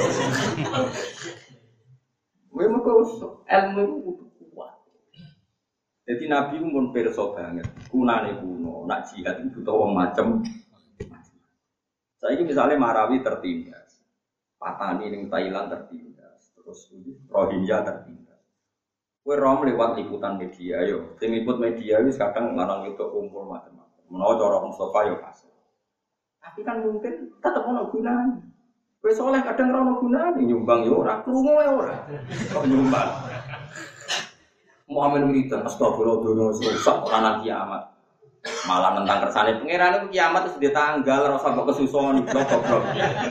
Memang kok ilmu itu kuat. Jadi Nabi pun pirsa banget. Kunane kuno, nak jihad itu butuh wong macem. Saiki misalnya Marawi tertindas. Patani ning Thailand tertindas. Terus Rohingya tertindas. Kowe rom lewat liputan media yo. Sing liput media wis kadang lanang itu kumpul macam-macam. Menawa cara Mustafa yo pas. Tapi kan mungkin tetep ono gunane. Kowe soleh kadang ora ono gunane, nyumbang yo ora, krungu wae ora. Kok nyumbang. Muhammad wiridan astagfirullah dono rusak ora nang kiamat. Malah nentang kersane pangeran itu kiamat wis ditanggal ora usah kok kesuson goblok.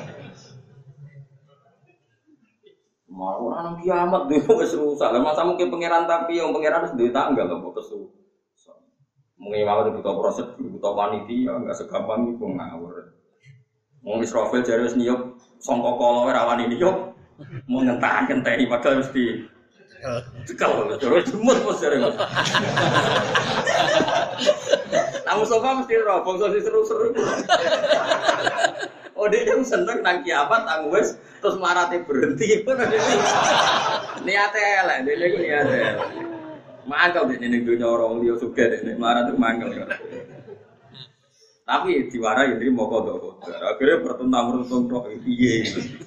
Malah ora nang kiamat dhewe wis rusak. Lah masa mungkin pangeran tapi yang pangeran wis ditanggal kok kesuson. Mungkin mau butuh proses, butuh panitia, enggak segampang itu ngawur. Mau Israfil jare wis niyup sangka kala ora wani niyup. Mau ngentah-ngenteni padahal mesti cekal terus jemut mos jare. Namun sofa mesti ro bangsa seru-seru. Oh dia yang seneng nang kiamat nang wis terus marate berhenti. Niate elek, dene iku niate. Mangkel dene ning dunya orang liya sugih dene marate mangkel. Tapi diwarai ini mau kodok kodok. Akhirnya bertentang-bertentang tok piye.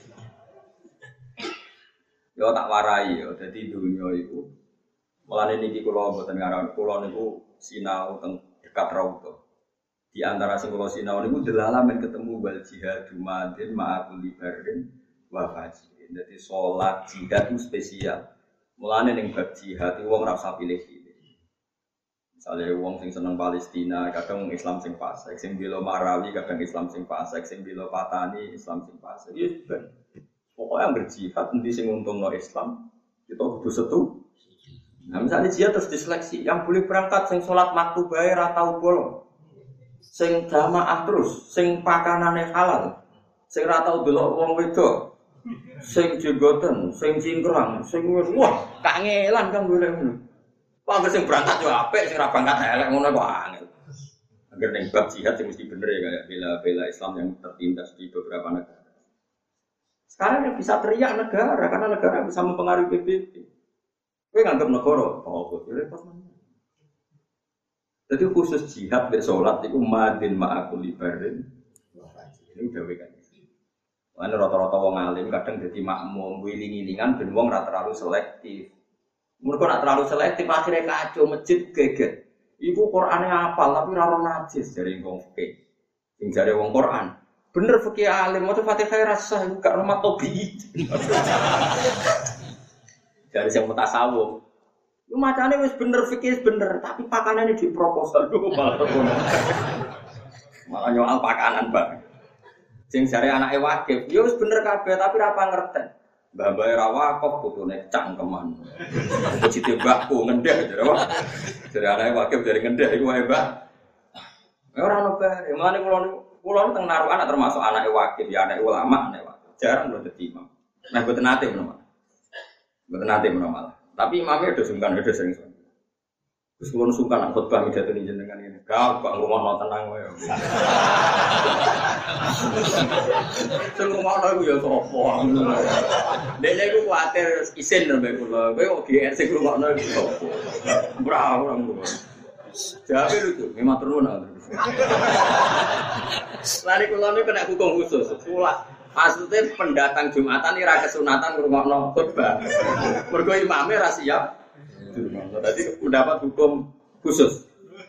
Yo tak warai yo. Jadi dunia itu mulane niki kula mboten ngaran kula niku sinau teng dekat Raudhah. Di antara sing kula sinau niku delalamen ketemu wal jihad madin ma'akul libarin wa fajrin. Dadi salat jihad itu spesial. Mulane ning bab jihad wong ora usah pilih-pilih. Misalnya wong sing seneng Palestina, kadang Islam sing fasik, sing bela Marawi, kadang Islam sing fasik, sing bela Patani, Islam sing fasik. Ya ben. Pokoknya yang berjihad nanti sing untungno Islam, kita kudu setu. Nah, misalnya jihad terus diseleksi, yang boleh berangkat sing salat maktu bae ra tau bolong. Sing jamaah terus, sing pakanane halal, sing ra tau delok wong wedok. Sing jenggoten, sing cingkrang, sing wah, kangelan kan golek ngono. Wah, sing berangkat yo apik, sing ora berangkat elek ngono kok angel. Agar ning bab jihad sing mesti bener ya kayak bela-bela Islam yang tertindas di beberapa negara. Sekarang yang bisa teriak negara karena negara bisa mempengaruhi P B B. Kowe nganggep negara, oh kok repot mana. Jadi khusus jihad mek salat iku madin ma'akul libarin. Ini udah wekan. Ana rata-rata wong alim kadang dadi makmum wiling-wilingan ben wong ora terlalu selektif. Mereka nak terlalu selektif akhirnya kacau masjid geget. Iku Qur'ane hafal tapi ora ono najis dari wong fikih. Sing jare wong Qur'an. Bener fikih alim maca Fatihah rasa iku gak rumah tobi. Dari sing mutasawuf. Iku macane wis bener fikih bener tapi pakanane di proposal dulu malah ngono. Malah nyoal pakanan, Pak. Sing jare anake wakif, yo wis bener kabeh tapi ora pangerten. Mbah-mbah ra wakaf putune cangkeman. Cite mbahku ngendhek jare apa? Jare anake wakif dari ngendhek iku wae, Mbah. Ora ono bae. Mulane kula kula teng narukan termasuk anake wakif, ya anake ulama, anake wakif. Jarang lho dadi imam. Nah, mboten nate menawa. Mboten nate menawa. Tapi imamnya udah sungkan, udah sering sungkan. Terus kula sungkan nak khotbah midhatoni jenengan ngene. Gak kok ngomong tenang wae. Sing ngomong iku ya sapa. Dene iku kuwatir isin lho mbek kula. Kowe kok G R sing ngomongno iku sapa. Ora ora ngono. Jabe lucu, memang turun ana. Lari kula niku kena hukum khusus. Kula maksudnya pendatang Jumatan ini ra kesunatan ngrungokno khotbah. Mergo imame ra siap. Tadi mendapat hukum khusus.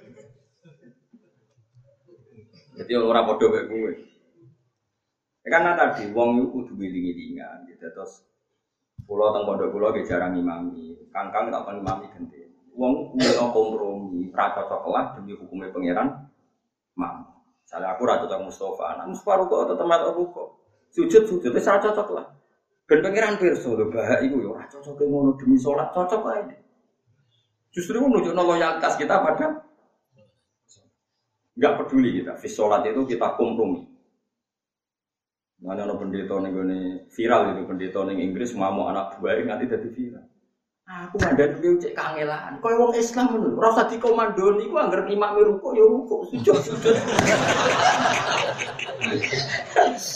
Jadi orang bodoh kayak gue. Karena tadi wong itu kudu wiling-wilingan gitu. Terus pulau teng pondok pulau ge jarang imami. Kangkang tak pernah imami ganti. Wong kudu kompromi, ra cocok lah demi hukumnya pangeran. Mam. Misalnya aku ra cocok Mustafa, nah Mustafa kok tetep mat aku kok. Sujud-sujud wis ra cocok lah. Ben pangeran pirsa lho bah iku yo ora cocok ngono demi salat cocok ae. Justru menunjukkan loyalitas kita pada enggak peduli kita. Fi sholat itu kita kompromi. Mana ada pendeta nih gue viral itu pendeta nih Inggris mau anak buah nanti jadi viral. Aku mandan dulu cek kangelan. Kau yang Islam menurut rasa di komando ni, aku anggar imam meruko ya ruko sujud sujud.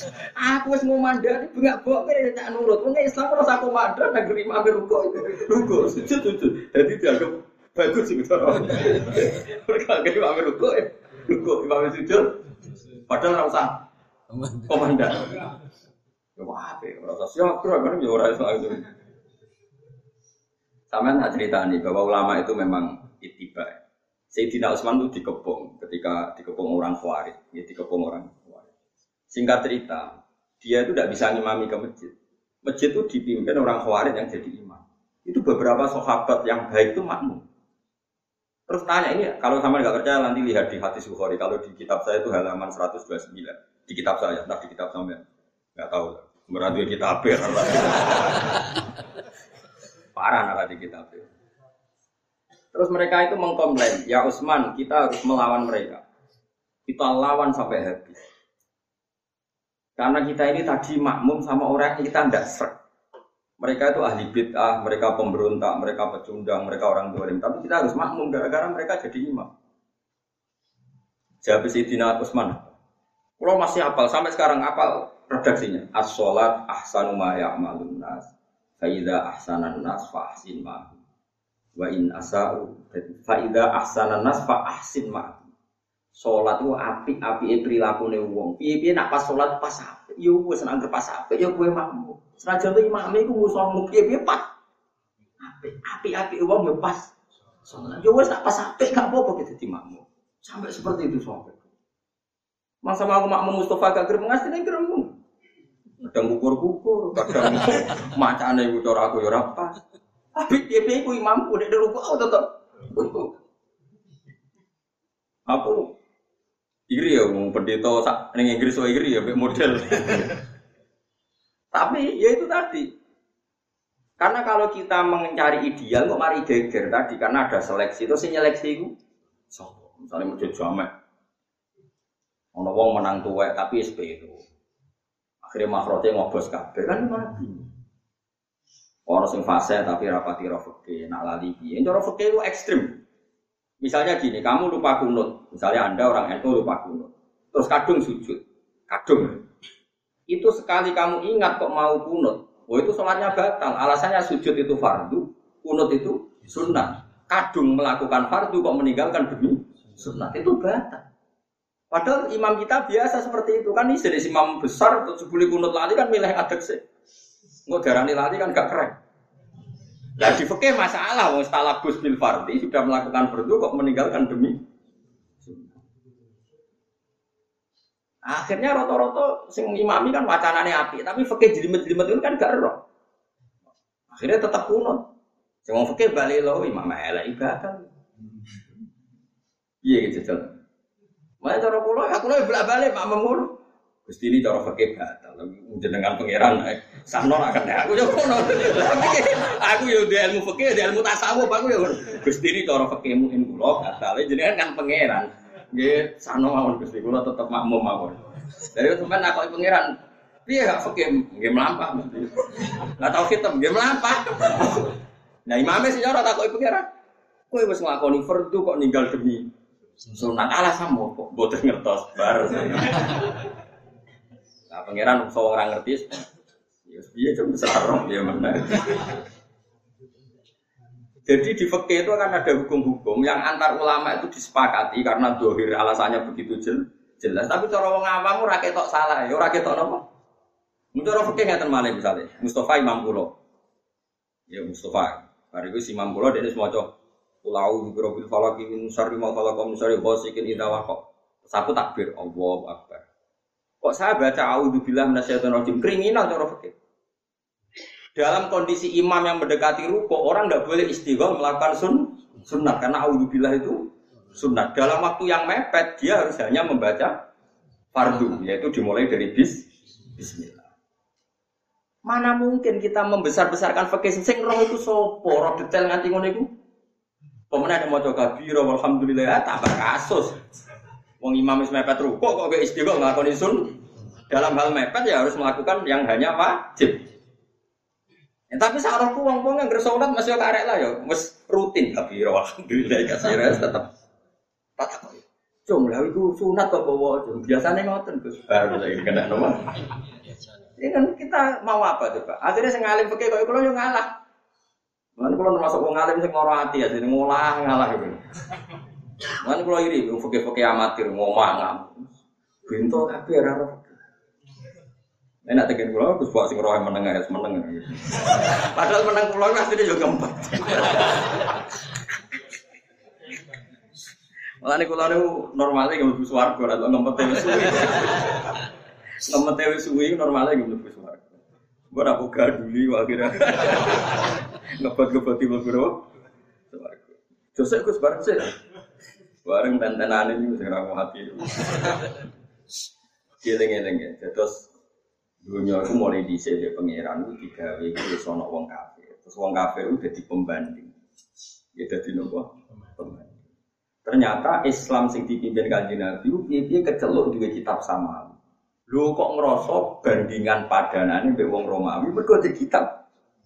Aku wis ngomandani bengak bok kene tak nurut. Wong Islam ora sak komandan negeri mamir ruko. Ruko sujud sujud. Dadi dianggap bagus sih cara. Mereka gak mamir ruko. Ruko mamir sujud. Padahal ora usah komandan. Ya wae, ora usah siap kan ya ora iso itu. Sampeyan tak ceritani bahwa ulama itu memang ittiba. Sayyidina Utsman itu dikepung ketika dikepung orang Khawarij, ya dikepung orang Khawarij. Singkat cerita, dia itu tidak bisa ngimami ke masjid. Masjid itu dipimpin orang Khawarij yang jadi imam. Itu beberapa sahabat yang baik itu makmum. Terus tanya ini, kalau sama nggak percaya nanti lihat di hadis Bukhari. Kalau di kitab saya itu halaman seratus dua puluh sembilan. Di kitab saya, entah di kitab sampean. Nggak tahu. Berarti kitab apa? Parah nara di kitab itu. Terus mereka itu mengkomplain, ya Utsman, kita harus melawan mereka. Kita lawan sampai habis. Karena kita ini tadi makmum sama orang yang kita tidak serg. Mereka itu ahli bid'ah, mereka pemberontak, mereka pecundang, mereka orang dolim. Tapi kita harus makmum gara-gara mereka jadi imam. Jawab Sayyidina Utsman. Kalau masih hafal, sampai sekarang hafal redaksinya. As-sholat ahsanu ma ya'malun nas. Fa idza ahsanan nas fa ahsin ma. Wa in asa'u fa idza ahsanan nas fa ahsin ma. Salat ku apik-apike prilakune wong. Piye-piye nak pas salat pas apik, yo wis nang pas apik yo kowe makmum. Senajan to imame iku musuhmu piye-piye pas. Apik, apik-apike wong yo pas. Salat yo wis nak pas apik gak apa-apa kita dadi makmum. Sampai seperti itu sampai. Masa mau aku makmum Mustafa gak grem ngasih ning gremmu. Kadang kukur-kukur, kadang macane iku cara aku yo ora pas. Tapi piye-piye ku imamku nek ruku tetep. Aku iri ya wong pendeta sak ning Inggris wae iri ya mek model. Tapi ya itu tadi. Karena kalau kita mencari ideal kok mari geger tadi karena ada seleksi. Terus sing nyeleksi iku sapa? Misale masjid jamek. Ana wong menang tuwek tapi S P itu. Akhire makrote ngobos kabeh kan mati. Orang sing fase tapi rapati rofeke, nak lali piye. Cara rofeke itu ekstrim. Misalnya gini, kamu lupa kunut. Misalnya Anda orang N U lupa kunut. Terus kadung sujud. Kadung. Itu sekali kamu ingat kok mau kunut. Oh itu sholatnya batal. Alasannya sujud itu fardu, kunut itu sunnah. Kadung melakukan fardu kok meninggalkan demi sunnah. Itu batal. Padahal imam kita biasa seperti itu. Kan ini jenis imam besar, untuk sebuli kunut lali kan milih adek sih. Nggak darani lali kan gak keren. Nah di fikih masalah, wong talabus bil fardhi sudah melakukan fardu kok meninggalkan demi sunnah. Akhirnya roto-roto sing imami kan wacanane apik, tapi fikih jelimet-jelimet itu kan gak ero. Akhirnya tetap kunut. Sing wong fikih bali lho imam elek ibadah. Iya gitu jajal. Mane cara kula aku lho bolak-balik mak mengur. Gusti ini cara fikih batal. Jenengan pangeran sahno akan aku yo ngono. Aku yo di ilmu fikih, di ilmu tasawuf aku yo. Gusti ini cara fikih mungkin kula batal. Jenengan kan pangeran. Nggih, sahno mawon Gusti kula tetep makmum mawon. Dari sampean nakoki pangeran, piye gak fikih nggih mlampah mesti. Lah tau khitam nggih mlampah. Nah imame sing ora takoki pangeran. Kowe wis nglakoni fardu kok ninggal demi sunat alasan kok mboten ngertos bar. Nah, pangeran so orang ngerti, ya biar cuma sekarang dia mana. Jadi di fikih itu akan ada hukum-hukum yang antar ulama itu disepakati karena dohir alasannya begitu jelas. Tapi cara wong awam ora ketok salah, ya ora ketok napa. Menurut fikih ngaten malih misalnya, Mustafa Imam Kulo. Ya Mustafa, hari itu si Imam Kulo dia semaca Ulau birobil falaki min syarri ma khalaqa min syarri ghasiqin idza waqa. Saku takbir Allahu akbar. Kok saya baca a'udzubillahi minasyaitonir rajim kriminal cara fikih. Dalam kondisi imam yang mendekati ruku, orang enggak boleh istighfar melakukan sun, sunnah karena a'udzubillah itu sunnah. Dalam waktu yang mepet dia harus hanya membaca fardu, yaitu dimulai dari bis bismillah. Mana mungkin kita membesar-besarkan fikih sing roh itu sapa, roh detail nganti ngono iku. Pemenang yang maca kabira walhamdulillah tambah kasus. Wong imam wis mepet ruku kok gak istighfar nglakoni sun. Dalam hal mepet ya harus melakukan yang hanya wajib. Ya, tapi sarohku wong-wong yang bersolat masih karek lah ya, wis rutin kabira alhamdulillah kasih res tetep. Cung, lha iku sunat kok bawa cung. Biasane ngoten Gus Bar saiki kena napa? Ini kan kita mau apa coba? Akhirnya sing alim fikih kok kula yo ngalah. Lan kula termasuk wong alim sing ora ati ya, sing ngolah ngalah iki. Lan kula iri wong fikih-fikih amatir ngomah ngam. Bento kabeh ora ora. Enak tekan kula Gus Pak sing roh meneng ya meneng. Padahal meneng kula asline yo ngempet. Mulane kula niku normale nggih mlebu swarga ora ngempet wis suwi. Ngempet wis suwi normale nggih mlebu swarga. Mbok ora gaduli akhirnya. Ngempet-ngempet mlebu swarga. Jose Gus bareng sih. Bareng tentenane iki sing ra hati. Eling-eling ya. Terus dunia itu mulai dhisik ya pangeran itu digawe iku wis ana wong kafir. Terus wong kafir itu dadi pembanding. Ya dadi nopo? Pembanding. Ternyata Islam sing dipimpin Kanjeng Nabi ku piye-piye keceluk duwe kitab samawi. Lho kok ngrasa bandingan padanane mbek wong Romawi mergo di kitab.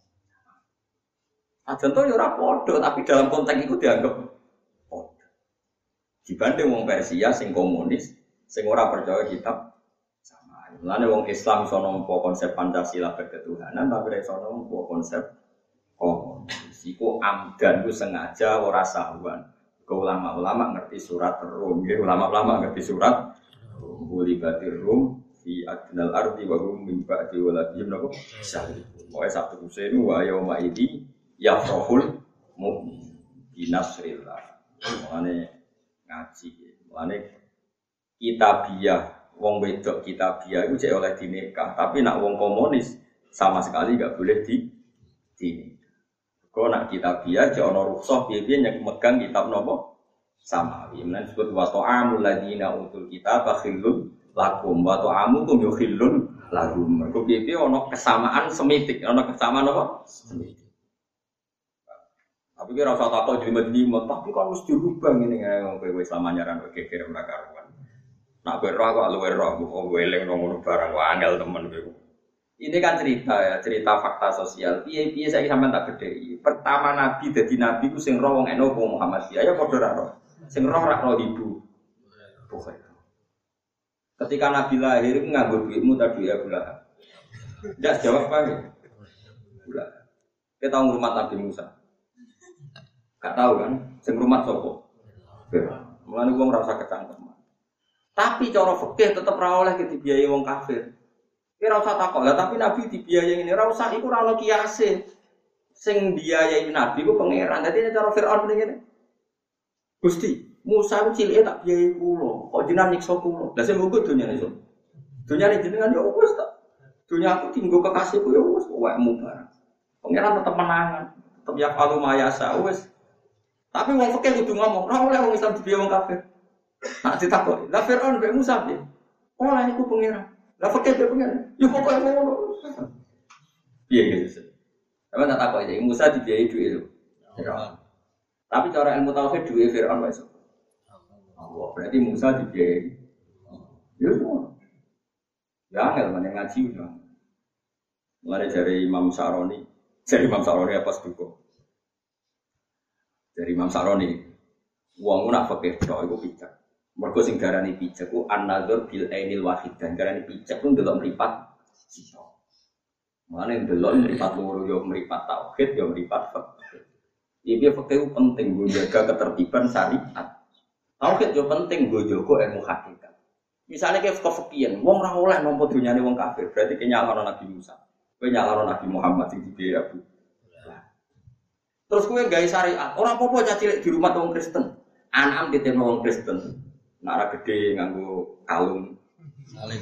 Aja to ya ora padha tapi dalam konteks iku dianggap padha. Dibanding wong Persia sing komunis sing ora percaya kitab samawi. Mulane wong Islam iso nampa konsep Pancasila berketuhanan tapi ora iso nampa konsep komunis. Iku amdan ku sengaja ora sahwan. Ke ulama-ulama ngerti surat Rum, ya ulama-ulama ngerti surat Rum. Bulibatir Rum fi adnal ardi wa hum min ba'di waladihim napa syahid. Pokoke satu kusenu wa yauma idi yafrahul mu'min bi nasrillah. Mulane ngaji, mulane kitabiah wong wedok kitabiah iku jek oleh dinikah, tapi nak wong komunis sama sekali enggak boleh di di kok nak kitabiah jek ana rukhsah piye-piye nek megang kitab napa samawi. Men disebut wa ta'amul ladina utul kitaba khillun lakum wa ta'amukum yukhillun lahum. Mergo piye-piye ana kesamaan semitik, ana kesamaan apa? Semitik. Tapi kira usah takok jlimet-jlimet, tapi kan mesti dirubah ngene ngene kowe wis lamanyaran kowe geger ora karuan. Nak kowe ora kok luwe ora kok eling ngono barang wae angel temen kowe. Ini kan cerita ya, cerita fakta sosial. Piye-piye saiki sampean tak gedheki. Pertama nabi dadi nabi ku sing roh wong eno wong Muhammadiyah ya padha ra roh. Sing roh ra roh ibu. Bukan. Ketika nabi lahir ku nganggo duitmu ta duit Abu Lahab. Ndak jawab apa? Bulan. Kita tahu rumah Nabi Musa. Gak tahu kan, sing rumah sapa? Mulane wong ora usah kecangkeman. Tapi cara fikih tetep ra oleh dibiayai wong kafir. Ki ora usah takok. Lah tapi Nabi dibiayai ngene, ora usah iku ora ono kiase. Sing biayai Nabi ku pangeran. Dadi cara Firaun ngene. Gusti, Musa ku cilike tak biayai kula, kok jenengan nyiksa kula. Lah sing munggo donyane iso. Donyane jenengan ya wis tak. Donya aku tinggo kekasihku ya wis wekmu bareng. Pangeran tetep menangan, tetep ya kalau mayasa wis. Tapi wong fikih kudu ngomong, ora oleh wong Islam dibiayai wong kafir. Nak ditakoki, lah Firaun mbek Musa piye? Ora niku pangeran. Lah fikih mbek pangeran. Ya pokoke ngono. Piye gitu. Sampe tak takoki Musa dibiayai dhuwit lho. Tapi cara ilmu tauhid duwe Firaun wae. Allah, berarti Musa dibiayai. Ya semua. Ya angel meneng ngaji udah. Mulai dari Imam Saroni, dari Imam Saroni apa seduko? Dari Imam Saroni, wong nak fikih tok iku pijak. Mergo sing darani pijak ku an-nadzur bil ainil wahid dan darani pijak ku ndelok mripat sisa. Mulane ndelok mripat loro yo mripat tauhid yo mripat fikih. Iki fikih penting nggo jaga ketertiban syariat. Tauhid yo penting nggo jaga ilmu hakikat. Misalnya kayak kefikiran, wong ora oleh nampa dunyane wong kafir, berarti kenyalano Nabi Musa. Kowe nyalano Nabi Muhammad sing dibiayai Abu. Terus kowe gawe syariat, ora apa-apa cacilik di rumah wong Kristen. Anak-anak ditemu wong Kristen. Nara gede nganggo kalung. Saling.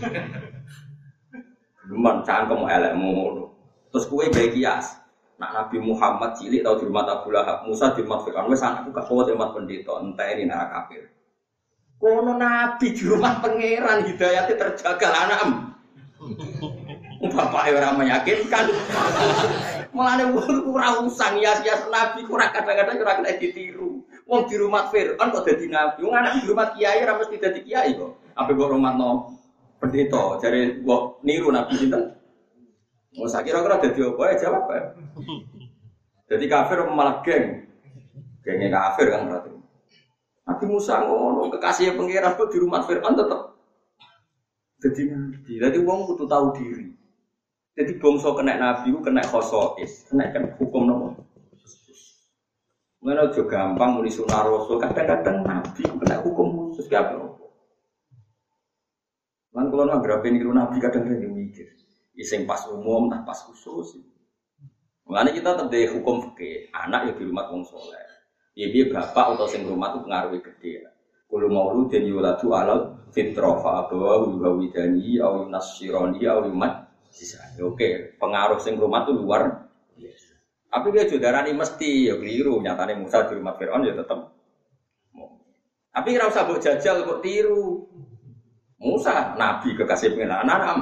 Luman cangkem elekmu ngono. Terus kowe gawe kias. Nak Nabi Muhammad cilik tau di rumah Abu Lahab, Musa di rumah Fir'aun, wis anakku gak kuat di rumah pendeta, enteni nara kafir. Kono Nabi di rumah pangeran hidayatnya terjaga anak. Bapaknya orang meyakinkan. Mulane wong ora usang hias-hias Nabi ora kadang-kadang ora kena ditiru. Wong di rumah Fir'aun kok dadi nabi. Wong anak di rumah kiai ora mesti dadi kiai kok. Ape kok rumahno pendeta jare kok niru Nabi sinten? Wong sak kira-kira dadi apa ya jawab ya. Dadi kafir malah geng. Genge kafir kan berarti. Nabi Musa ngono kekasih pangeran kok di rumah Firaun tetep dadi nabi. Dadi wong kudu tahu diri. Jadi bangsa kena nabi ku kena khosois, kena kan hukum nopo. Ngono aja gampang muni sunah rasul, kadang-kadang nabi ku kena hukum khusus ki apa. Lan kula nggarape niku nabi kadang-kadang mikir, iseng pas umum tak pas khusus. Mulane kita tetep dari hukum fikih, anak ya di rumah wong saleh. Ya dia bapak atau sing rumah itu pengaruhi gede. Kulo mauludin yuladu alal fitrah fa abawa wa widani au yunassirani au yumat. Oke, pengaruh sing rumah itu luar biasa. Tapi dia jodarani mesti ya keliru. Nyatane Musa di rumah Firaun ya tetep. Tapi ora usah mbok jajal kok tiru. Musa nabi kekasih pengenalan anam.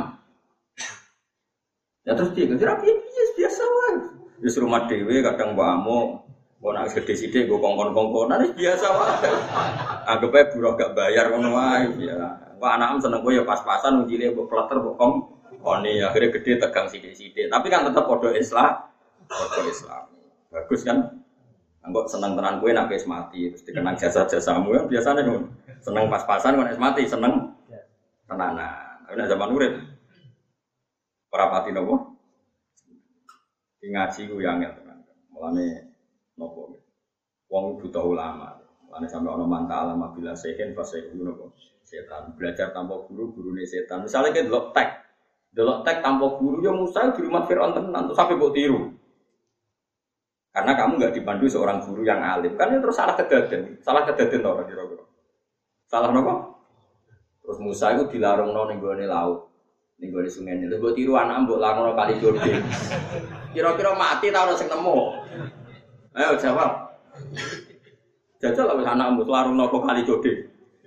Ya terus dia kira biasa wae. Wis rumah dhewe kadang mbok amuk. Kok nak gede-gede gue kongkon-kongkonan biasa wae. Anggap ae buruh gak bayar ngono wae ya. Kok anak seneng gue ya pas-pasan ujile mbok kleter mbok kong. Kone akhirnya gede tegang sithik-sithik. Tapi kan tetap padha Islam. Padha Islam. Bagus kan? Anggap seneng tenan kowe nek wis mati terus dikenang jasa-jasamu ya biasane ngono. Seneng pas-pasan kok nek mati seneng tenanan. Tapi nek zaman urip ora pati nopo? Ngaji ku yang angel tenan. Mulane nopo wong butuh ulama ane sampe ana manta alama bila sehen fase nopo setan belajar tanpa guru gurune setan misalnya ke delok tek delok tek tanpa guru ya Musa di rumah Firaun tenan terus sampai mbok tiru karena kamu enggak dipandu seorang guru yang alim kan itu terus salah kedaden salah kedaden ora kira-kira salah nopo terus Musa itu dilarungno ning gone laut ning gone sungai lho mbok tiru anak mbok larungno kali Jordan kira-kira mati ta ora sing nemu. Ayo jawab. Jajal lah wis anak mbok larungno kok kali Code.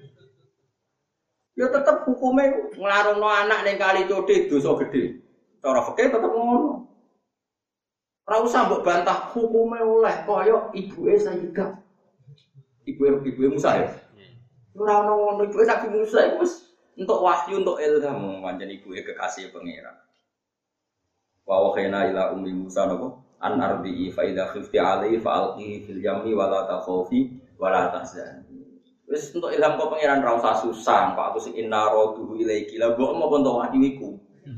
Ya tetep hukume nglarungno anak ning kali Code dosa gedhe. Cara fikih tetep ngono. Ora usah mbok bantah hukume oleh kaya ibuke Sayyidah. Ibu ibuke Musa ya. Ora ono ngono ibuke Nabi Musa iku wis entuk wahyu entuk ilham pancen ibuke kekasih pangeran. Wa wakhina ila ummi Musa napa? An ardi'i fa idza khifti 'alaihi fa alqihi fil yammi wa la takhafi wa la tahzani. Wis entuk ilham kok pangeran ra usah susah, Pak aku sing inna raduhu ilaiki. Lah mbok mau entuk wahyu iku.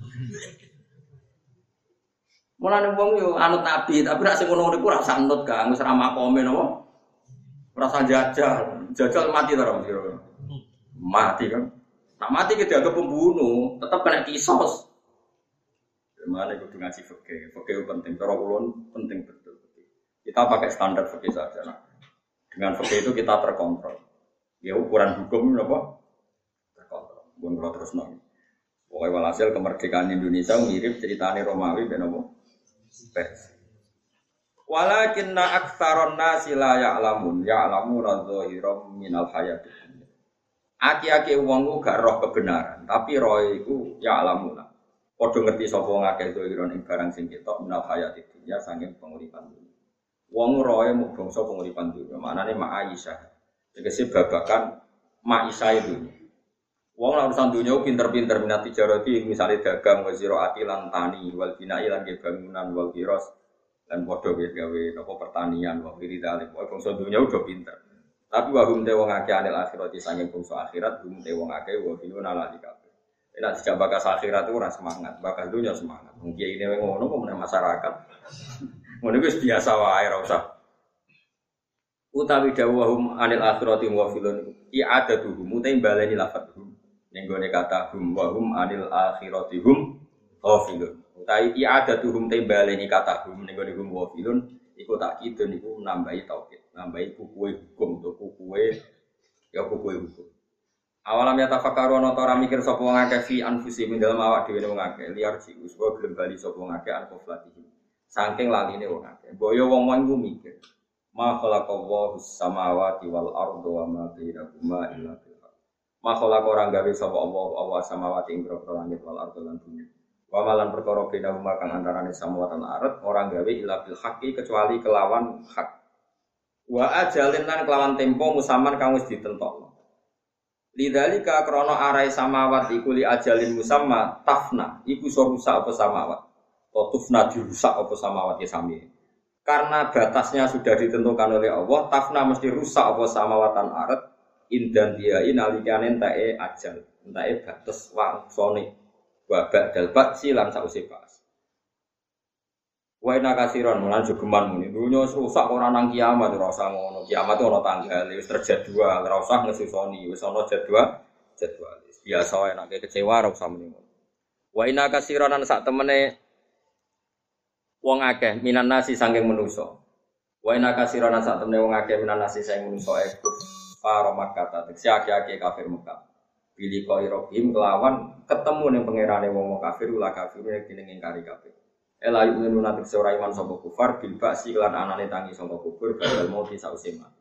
Mulane wong yo anut nabi, tapi nek sing ngono niku ora usah anut Kang, wis ra makome napa? Ora usah jajal. Jajal mati ta ora kira. Mati kan. Nak mati ki dianggap pembunuh, tetap kena kisos. Mana kudu ngaji fikih, fikih penting. Cara ulun penting betul. Kita pakai standar fikih saja. Nah, dengan fikih itu kita terkontrol. Ya ukuran hukum apa? Terkontrol. Bukan kalau terus nol. Pokoknya walhasil kemerdekaan Indonesia mirip ceritane Romawi ben apa? Persia. Walakinna aktsaron nasi la ya'lamun, ya'lamuna dzahiran minal hayatid dunya. Aki-aki wong ku gak roh kebenaran, tapi roh iku ya'lamuna. Padha ngerti sapa ngakeh dzahiran ing barang sing ketok minal hayatid dunya saking penguripan dunya. Wong roe mung bangsa penguripan dunya, maknane ma'aisyah. Tegese babakan ma'aisyah dunya. Wong lan urusan dunya pinter-pinter minat tijarati misale dagang wa ziraati lan tani wal binai lan bangunan wal kiros lan padha wis gawe napa pertanian wa wiridale. Pokoke bangsa dunya udah pinter. Tapi wa hum te wong akeh anil akhirati saking bangsa akhirat hum te wong akeh wa binuna lan kabeh. Nek dijak bakas akhirat itu ora semangat, bakas dunya semangat. Mungkin ini ngono kok meneh masyarakat. Ngono wis biasa wae ora usah. Utawi dawuhum anil akhirati wa filun i'adatuhum utai baleni lafadzhum. Ning gone kata hum wa hum anil akhirati hum ghafilun. Utai i'adatuhum te baleni kata hum ning gone hum wa filun iku tak kidun iku nambahi tauhid, nambahi kukuwe hukum to kukuwe ya kukuwe hukum. Awalam ya tafakkaru ana ta ora mikir sapa wong akeh fi anfusi min dalem awak dhewe wong akeh liar sik wis kok gelem bali sapa wong akeh anfoflatihi. Saking laline wong akeh. Boyo wong-wong iku mikir. Ma khalaqallahu samawati wal arda wa ma bainahuma illa bil haqq. Ma khalaqa ora gawe sapa Allah Allah samawati ing grogro langit wal arda lan bumi. Wa malan perkara bainahuma kang antarane samawati lan ardh ora gawe illa bil haqqi kecuali kelawan hak. Wa ajalin lan kelawan tempo musaman kang wis ditentokno. Lidzalika krana arai samawat iku li ajalin musamma tafna iku iso rusak apa samawat. Tufna dirusak apa samawat ya sami. karena batasnya sudah ditentukan oleh Allah, tafna mesti rusak apa samawatan arat indan dia inalikane entae ajal, entae batas wangsane. Wa ba'dal ba'si lan sause pas. Wa inna kasiron lan jogeman muni. Dunya rusak ora nang kiamat ora usah ngono. Kiamat ora tanggal, wis terjadwal, ora usah ngesusoni, wis ana jadwal, jadwal. Biasa wae nek kecewa ora usah muni. Wa inna kasiron lan sak temene wong akeh minan nasi saking manusa. Wa inna kasiron lan sak temene wong akeh minan nasi saking manusa iku para Makkah tekse akeh-akeh kafir Mekah. Pilih koi rohim kelawan ketemu ning pangerane wong kafir ulah kafir nek dene ngingkari kabeh. Ela yu'minu natik seora iman sapa kufar bil ba'si lan anane tangi sapa kubur badal mati sause mati.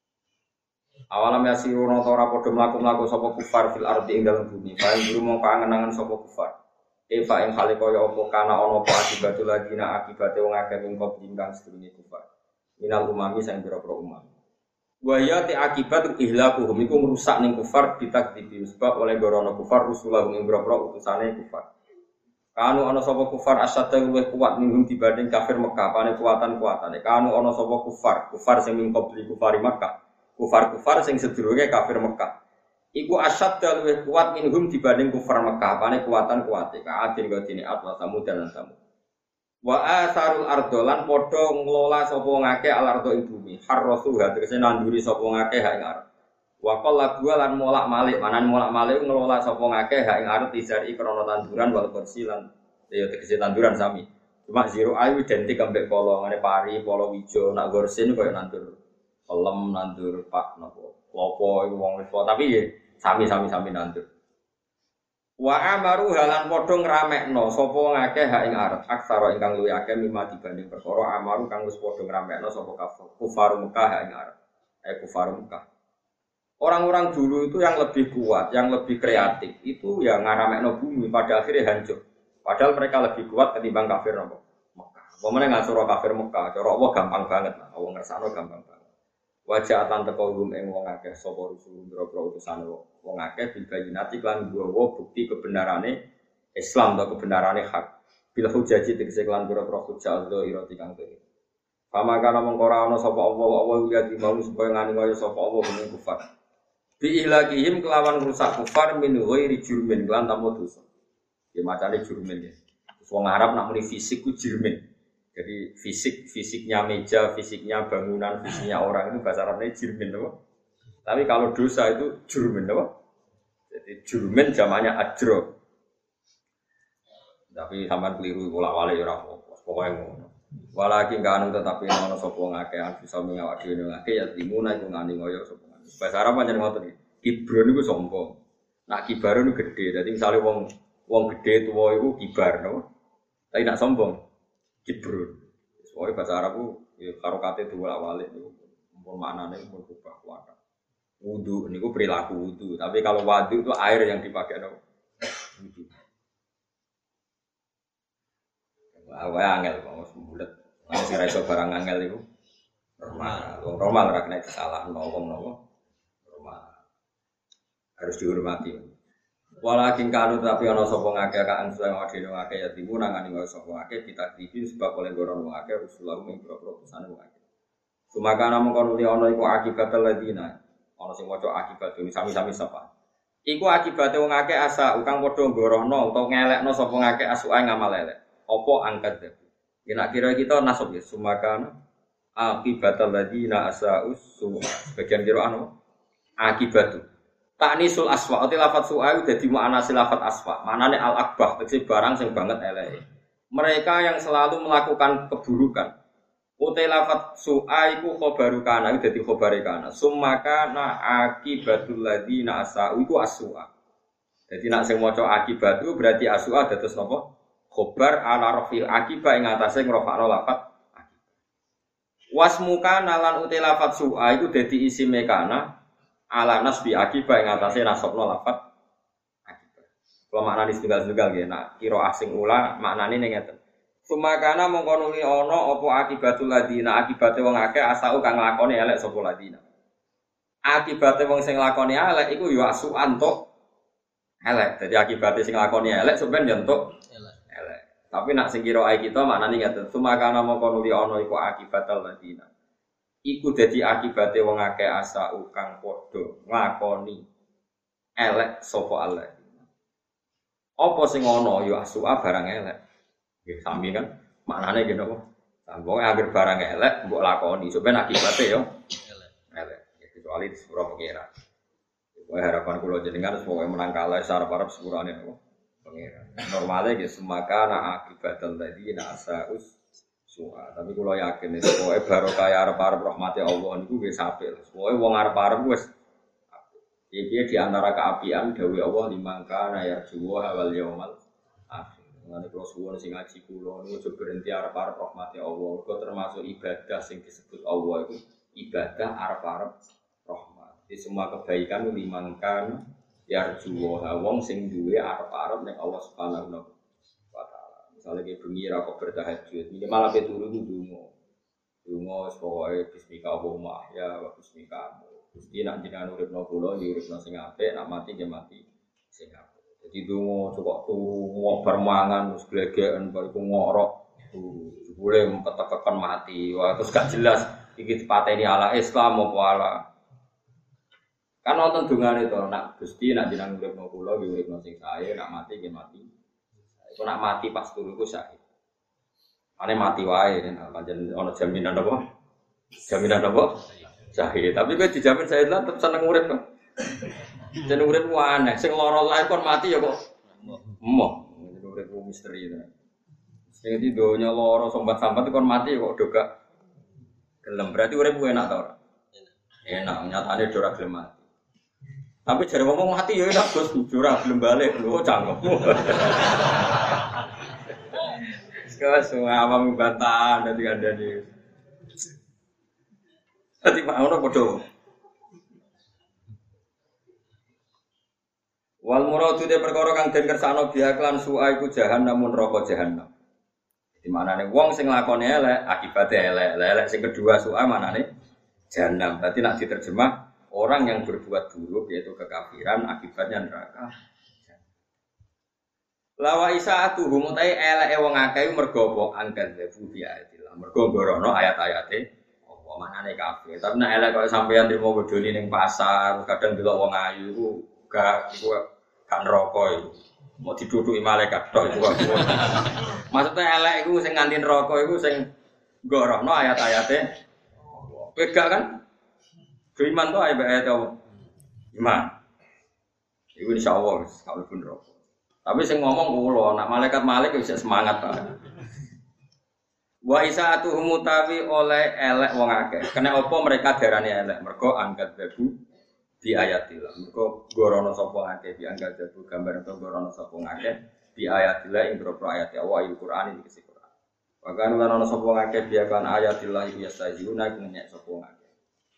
Awalam yasiruna ta ora padha mlaku-mlaku sapa kufar fil ardi ing dalem bumi. Bae guru mung kangen-angen sapa kufar. Eva ing hale kaya apa kana ana apa akibatul ladina akibate wong akeh ing kop ingkang sedurunge kufar. Minal umami sing pira-pira umam. Wa ya ti akibat ihlakuhum iku ngrusak ning kufar ditakdibi sebab oleh gorono kufar rusulah ing pira-pira utusane kufar. Kanu ana sapa kufar asadda luwih kuat minhum dibanding kafir Mekah, pane kuatan-kuatane. Kanu ana sapa kufar, kufar sing min qabli kufari Mekah. Kufar-kufar sing sedurunge kafir Mekah. Iku asadda luwih kuat minhum dibanding kufar Mekah, pane kuatan-kuate. Ka'adin godine atwa samud dan samud. Wa asarul ardolan padha ngelola sapa ngake al-ardo ing bumi. Harrasu tegese nanduri sapa ngake hak ing arep. Wa qalla lan molak-malik, manan molak-malik ngelola sapa ngakeh hak ing arep izari krana tanduran wal kursi lan ya tegese tanduran sami. Cuma zero ayu identik ambek polo ngene pari, polo wijo, nak gorsin koyo nandur pelem, nandur pak napa. Klopo iku wong wis tapi ya sami-sami sami nandur. Wa amaru halan padha ngramekno sapa ngakeh hak ing arep aksara ingkang luwih akeh mimma dibanding perkara amaru kang wis padha ngramekno sapa kufar Mekah hak ing arep. Eh kufar Mekah. Orang-orang dulu itu yang lebih kuat, yang lebih kreatif, itu ya ngaramekno bumi pada akhirnya hancur. Padahal mereka lebih kuat ketimbang kafir Mekah. Pemene ngasura kafir Mekah, cara Allah gampang banget lah, Allah ngersano gampang banget. Wajah atan teko rum ing wong akeh sapa rusul boro-boro utusan wong akeh bil bayinati lan nggawa bukti kebenarane Islam atau kebenarane hak. Bil hujaji tegese lan boro-boro hujjah Allah irati kang dhewe. Pamakana mongko ora ana sapa Allah, Allah ya di mau supaya ngani kaya sapa Allah ing kufar. Bi ilahihim kelawan rusak kufar min ghairi jurmin lan tanpa dosa. Ya macane jurmin ya. Wong Arab nak muni fisik ku jurmin. Jadi fisik fisiknya meja, fisiknya bangunan, fisiknya orang itu bahasa Arabnya jurmin apa? Tapi kalau dosa itu jurmin apa? Jadi jurmin zamannya ajro. Tapi sampean keliru bola-balik ora apa-apa. Pokoke ngono. Walakin kanu tetapi ana sapa ngakeh bisa mengawak dhewe ngakeh ya timuna iku ngani ngoyo sapa. Bahasa Arab pancen ngoten iki. Kibro niku sombong. Nak kibar niku gedhe. Dadi misale wong wong gedhe tuwa iku kibar no. Tapi nak sombong kibro. Soale bahasa Arab ku ya karokate diwolak-walik niku. Mumpun maknane mumpun kubah kuat. Wudu niku perilaku wudu, tapi kalau wadu itu air yang dipakai no. Wudu. Wah, angel kok sembulet. Nek sing ra iso barang angel iku normal. Wong normal ora kena disalahno wong nopo. Harus dihormati. Walakin kanu tapi ana sapa ngakeh kan suwe ngene ngakeh ya timu nangani wae sapa ngakeh ditakdifi sebab oleh goron ngakeh Rasulullah ing propro pesane ngakeh. Sumakana mongkon li ana iku akibat ladina. Ana sing maca akibat ini sami-sami sapa. Iku akibate wong akeh asa ukang padha ngorono utawa ngelekno sapa ngakeh asuke ngamal elek. Apa angkat dadi. Yen kira kita nasab ya sumakana akibat ladina asa usu bagian kira anu akibatu Ta'nisul aswa, ati lafat su'ayu dadi mu'anasi lafat aswa. Manane al-akbah, tegese barang sing banget eleke. Mereka yang selalu melakukan keburukan. Uti lafat su'a iku khobaru kana, iku dadi khobare kana. Summaka na akibatul ladina asa'u iku as-su'a. Dadi nek sing maca akibatu berarti as-su'a dados napa? Khobar ala rafil akibah ing atase ngrofakno lafat akibah. Wasmuka nalan uti lafat su'a iku dadi isime kana. Ala nasbi akibah yang atasnya nasabna lafat akibah. Kalau maknane setunggal-setunggal nggih, nak kira asing ula maknane ning ngeten. Sumakana mongko nuli ana apa akibatul ladina akibate wong akeh asau kang nglakoni elek sapa ladina. Akibate wong sing nglakoni elek iku ya asukan tok elek. Dadi akibate sing nglakoni elek sampeyan ya entuk elek. Tapi nak sing kira ae kita maknane ngaten. Sumakana mongko nuli ana iku akibatal ladina. Iku dadi akibate wong akeh asa kang padha nglakoni elek sapa Allah. Apa sing ana ya asu'a barang elek. Nggih sami kan maknane ngene apa? Wong anggere barang elek mbok lakoni, sampeyan akibate ya elek. Elek. Kecuali di sepuro pengira. Wae harapan kula jenengan semoga menang kalah sarep-arep sepurane apa? Pengira. Normale nggih semakana akibatal ladina asa'us su'a. Tapi kula yakin pokoke barokah arep-arep rahmate Allah niku nggih sapil. Pokoke wong arep-arep wis iki di antara keapian dawuh Allah limangka yarjuwa wal yaumal akhir. Ngene kula suwun sing ngaji kula niku aja berhenti arep-arep rahmate Allah. Kok termasuk ibadah sing disebut Allah itu ibadah arep-arep rahmat. Di semua kebaikan limangka yarjuwa wong sing duwe arep-arep ning Allah Subhanahu wa taala. Misale ki bengi ra kok bertahajud, minimal ape turu ku donga. Donga pokoke bismika Allahumma ahya wa bismika Gusti nak jenengan uripno kula ya uripno sing apik, nak mati ya mati sing apik. Dadi donga cocok tuwa bar mangan wis glegeken bar iku ngorok. Jebule metetekan mati. Wah terus gak jelas iki dipateni ala Islam apa ala. Kan wonten dongane to nak Gusti nak jenengan uripno kula ya uripno sing sae, nak mati ya mati. Iku nak mati pas turu iku sae. Ane mati wae nek pancen ana jaminan apa? Jaminan apa? Jahil, tapi kowe dijamin saya tetep seneng urip kok. Jeneng urip ku aneh, sing lara lae kon mati ya kok. Emoh, jeneng urip ku misteri to. Sing di donya lara sambat-sambat kon mati kok do gak gelem. Berarti urip ku enak ta ora? Enak, nyatane do ora gelem mati. Tapi jare ngomong mati ya enak Gus, ora gelem balik lho cangkem. Sekarang semua awam bantahan dadi kandhane. Tadi Pak ono padha. Wal muradu de perkara kang den kersane biaklan su'a iku jahanam neraka jahanam. Di manane wong sing lakone elek akibate elek. Elek sing kedua su'a manane jahanam. Berarti nek diterjemah orang yang berbuat buruk yaitu kekafiran akibatnya neraka. Lawa isaatu humutai eleke wong akeh mergo apa angkat debu biayatillah. Mergo gorono ayat-ayate manane kabeh. Tapi nek elek kok sampeyan trimo bodoni ning pasar, kadang delok wong ayu iku gak iku gak neraka iku. Mau diduduki malaikat tok iku. Maksudnya elek iku sing nganti neraka iku sing gorono ayat-ayate. Kowe gak kan? Iman to ayat-ayat apa? Iman. Iku insyaallah wis kalau pun neraka. Tapi sing ngomong kula, nek malaikat malik wis semangat ta. Wa isaatuhum mutawi oleh elek wong akeh. Kena apa mereka darane elek? Mergo angkat babu di ayatillah. Mergo gorono sapa akeh di angkat babu gambar to gorono sapa akeh di ayatillah ing boro ayat Allah Al-Qur'an iki kese Qur'an. Wa kan lan ana sapa akeh biakan ayatillah iki yastajuna ngenyek sapa akeh.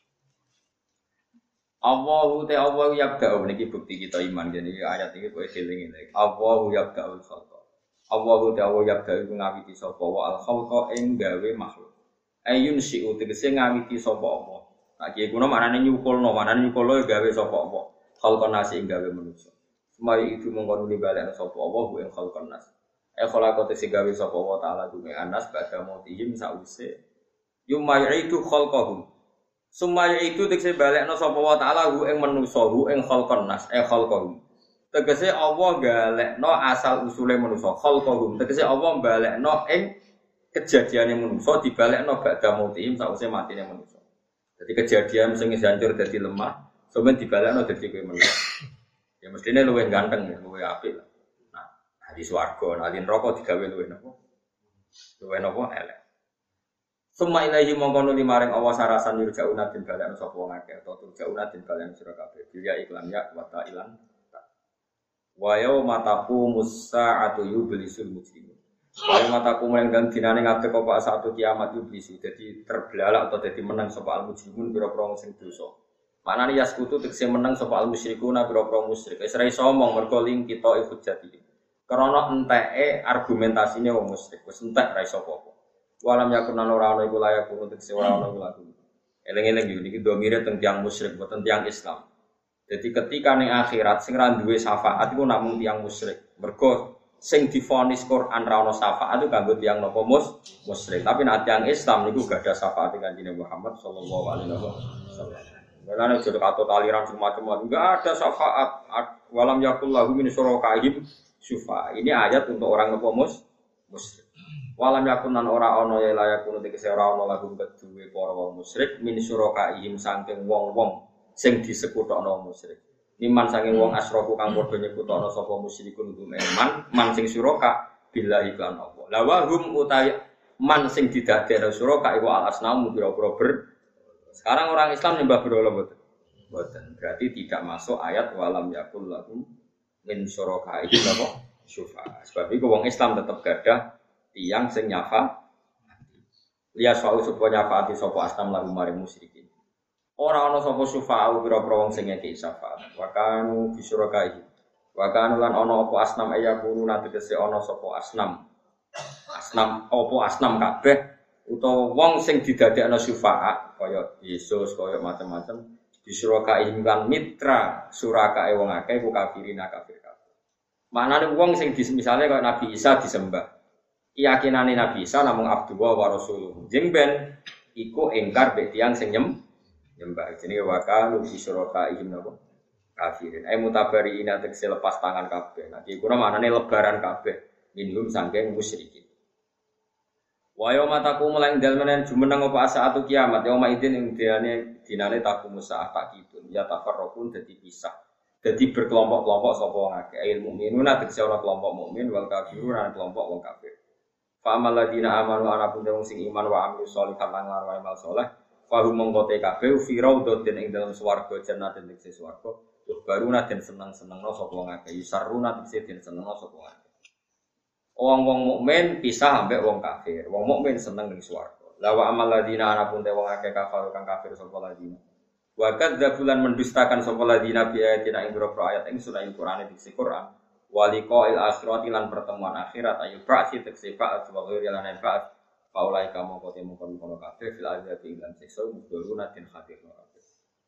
Allahu ta Allah yabda'u niki bukti kita iman jadi ayat iki kok eling-eling. Allahu yabda'ul khalqa. Allahu ta'ala yabda'u ngawiti sapa wa al-khalqa ing gawe makhluk. Ayun si'u tegese ngawiti sapa apa. Nah iki kuno manane nyukulno, manane nyukulno gawe sapa apa. Khalqan nasi ing gawe manusa. Semari itu mongko nuli balekno sapa apa ing khalqan nas. E khalaqa tegese gawe sapa wa ta'ala dume anas badha mautihim sause. Yumayitu khalqahum. Sumaya itu tegese balekno sapa wa ta'ala ing manusa ing khalqan nas e khalqahum. Tegese Allah galekno asal usule manusa khalqahum tegese Allah balekno ing kejadiane manusa dibalekno badha mautihim sause matine manusa. Jadi kejadian sing hancur dadi lemah sampeyan dibalekno dadi kowe manusa. Ya mestine luwih ganteng ya, luwih apik. Nah, di swarga, nah di neraka digawe luwih napa? Luwih napa elek. Summa ilahi mongko nuli maring Allah sarasan yurjauna den balekno sapa wong akeh utawa turjauna den balekno sira kabeh. Dia iklan ya wa ta'ilan wa yauma taqumu as-sa'atu yublisul mujrimun. Wa yauma taqumu lan dinane ngadeg apa satu kiamat yublisu dadi terbelalak atau dadi menang sapa al-mujrimun pira-pira sing dosa. Manane yaskutu tegese menang sapa al-musyrikuna pira-pira musyrik. Wis ra iso omong mergo ling kita hujjati. Karena enteke argumentasine wong musyrik wis entek ra iso apa-apa. Walam yakun ora ana iku layak untuk tegese ora ana iku laku. Eling-eling yo niki domire teng tiyang musyrik boten tiyang Islam. Jadi ketika ning akhirat sing ra duwe syafaat iku namung tiyang musyrik. Mergo sing difonis Quran ra ono syafaat itu kanggo tiyang napa mus musyrik. Tapi nek tiyang Islam niku gak ada syafaat Kanjeng Muhammad sallallahu alaihi wasallam. Karena jodoh atau aliran semacam enggak ada syafaat. Walam yakul lahu min syurakaihim syufa. Ini ayat untuk orang napa mus musyrik. Walam yakun nan ora ana ya layakun tegese ora ana lagu kedue para wong musyrik min syurakaihim saking wong-wong sing disekutokno wong musyrik. Iman saking wong asroku kang padha nyekutokno sapa musyrikun hum iman man sing syuraka billahi lan Allah. La wa hum utai man sing didadekno syuraka iku al asnamu pira-pira ber. Sekarang orang Islam nyembah berhala mboten. Mboten. Berarti tidak masuk ayat walam yakul lahum min syurakaihim apa syufa. Sebab iku wong Islam tetep gadah tiyang sing nyafa. Liya sa'u sapa nyafaati sapa asnam lagu maring musyrikin. Ora ana sapa syufa'u pira-pira wong sing ngekeki syafaat. Wa kanu bisyurakai. Wa kanu lan ana apa asnam ayakunu tegese ana sapa asnam. Asnam apa asnam kabeh utawa wong sing didadekno syufa'a kaya Yesus kaya macam-macam bisyurakai kan mitra surakae wong akeh ku kafirina kafir kabeh. Manane wong sing misale kaya Nabi Isa disembah. Keyakinane Nabi Isa namung Abdullah wa Rasuluh. Jeng ben iku engkar mek tiyang sing nyem nyembah jenenge wa kanu bisyurakaihim napa kafirin ay mutabari ina tegese lepas tangan kabeh nah iki kuna maknane lebaran kabeh minhum saking musyrikin wa yauma taqumu lan dalmanen jumeneng apa saatu kiamat yauma idin ing dinane dinane taqumu saat takitun ya tafarraqun dadi pisah dadi berkelompok-kelompok sapa wong akeh ilmu mukminuna tegese ora kelompok mukmin wal kafirun lan kelompok wong kafir fa amal ladina amanu ana pun wong sing iman wa amil sholihat lan ngarep amal saleh fahu mongkote kabeh fi raudhatin ing dalam swarga jannatin ing swarga tuh baruna den seneng-senengno sapa wong akeh yusarruna tegese den senengno sapa wong akeh wong-wong mukmin pisah ambek wong kafir wong mukmin seneng ning swarga la wa amal ladina ana pun te wong akeh kafir kang kafir sapa ladina wa kadzabulan mendustakan sapa ladina bi ayatina ing boro ayat ing surah Al-Qur'an diksi Qur'an waliqa'il akhirati lan pertemuan akhirat ayu ba'si tegese ba'at wa ghairi lan ba'at Paulai kamu kote mukon kono kafe fil azab ingkang siksa muduruna tin khatir kabeh.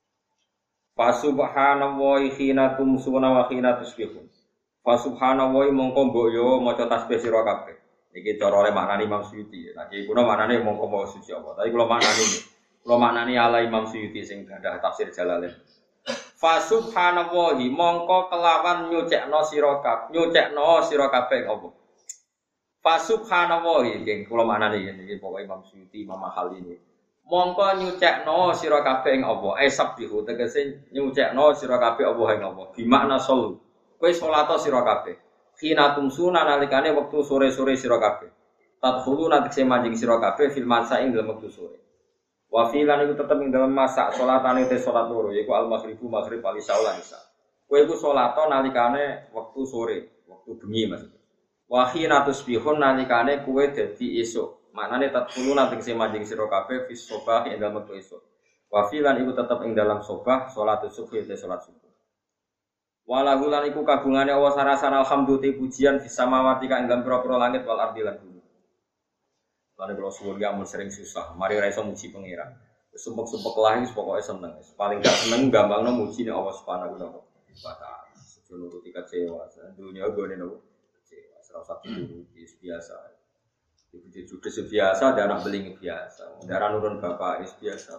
Fa subhanallahi khina tumsuna wa khina tusbihun. Fa subhanallahi mongko mbok yo maca tasbih sira kabeh. Iki cara oleh maknani Imam Suyuti. Lah iki kuno maknane mongko mawa suci apa. Tapi kula maknani kula maknani ala Imam Suyuti sing gadah tafsir Jalalain. Fa subhanallahi mongko kelawan nyucekno sira kabeh, nyucekno sira kabeh apa? Fa subhanallahi nggih kula maknane iki pokoke Imam Suyuti Imam Mahali ini. Mongko nyucekno sira kabeh ing apa? Esabbihu tegese nyucekno sira kabeh apa ing apa? Bi makna solu. Kowe salat sira kabeh. Khina tumsuna nalikane wektu sore-sore sira kabeh. Tadkhulu tegese manjing sira kabeh fil masa ing dalem wektu sore. Wa filan iku tetep ing dalem masa salatane te salat loro yaiku al maghribu maghrib wal isya lan isya. Kowe iku salat nalikane wektu sore, wektu bengi maksudnya. Wa khina tusbihun nalikane kowe dadi esuk. Maknane tadkhulu tegese manjing sira kabeh fis sobah ing dalem wektu esuk. Wa filan iku tetep ing dalam sobah salat subuh te salat subuh. Walahu lan iku kagungane Allah sarasana alhamdulillah pujian fis samawati kang ing pira-pira langit wal ardi lan bumi. Lan kula suwun ya mun sering susah, mari ra iso muji pangeran. Sumpek-sumpek lah wis pokoke seneng. Paling gak seneng gampangno muji ning Allah Subhanahu wa taala. Sejono nuruti kecewa, dunya gone nopo. Kecewa, ora usah dituruti biasa. Ibu judes biasa, ada anak beling biasa. Darah nurun bapak is biasa.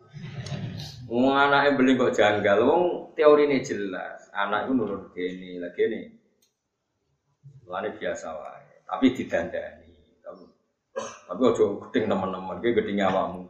Wong anake beling kok janggal, wong teorine jelas. Anak itu nurun gini, lagi ini. Lane biasa wae, tapi didandani. Tapi ojo gedeng teman-teman, kowe gedeng awakmu.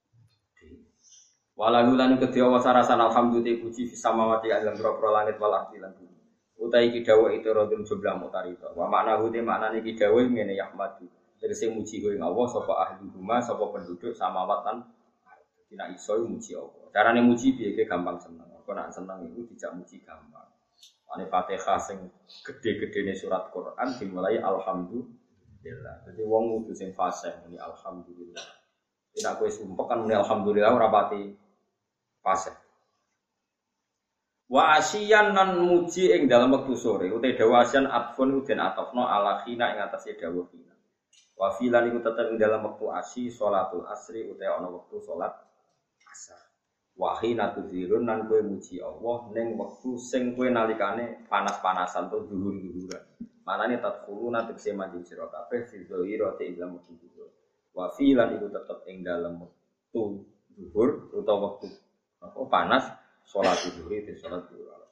Walau lan kedhe wa sarasan alhamdulillah puji fis samawati lan pro langit wal ardi lan bumi. Utai iki dawuh itu rodun jumlah mutarito. Wa makna hute maknane iki dawuh ngene yahmadu. Tegese muji kowe Allah sapa ahli rumah sapa penduduk samawat lan tidak iso muji Allah. Carane muji piye gampang seneng. Kok nek seneng iku dijak muji gampang. Ane Fatihah sing gede-gedene surat Quran dimulai alhamdulillah. Jadi wong kudu sing fasih muni alhamdulillah. Nek kowe sumpek kan muni alhamdulillah ora pati fasih. Wa asyian nan muji ing dalam wektu sore uta dawa asyan atfun den atofno ala khina ing atase dawuh khina. Wa filan iku tetep ing dalam wektu asyi salatul asri uta ana wektu salat asar. Wa khina tudzirun nan kowe muji Allah ning wektu sing kowe nalikane panas-panasan to dhuwur-dhuwuran. Manane tadkhuluna tegese mandi sira kabeh fi dzahira te ilmu zuhur. Wa fi lan iku tetep ing dalem wektu zuhur utawa wektu apa panas salat zuhur itu salat zuhur.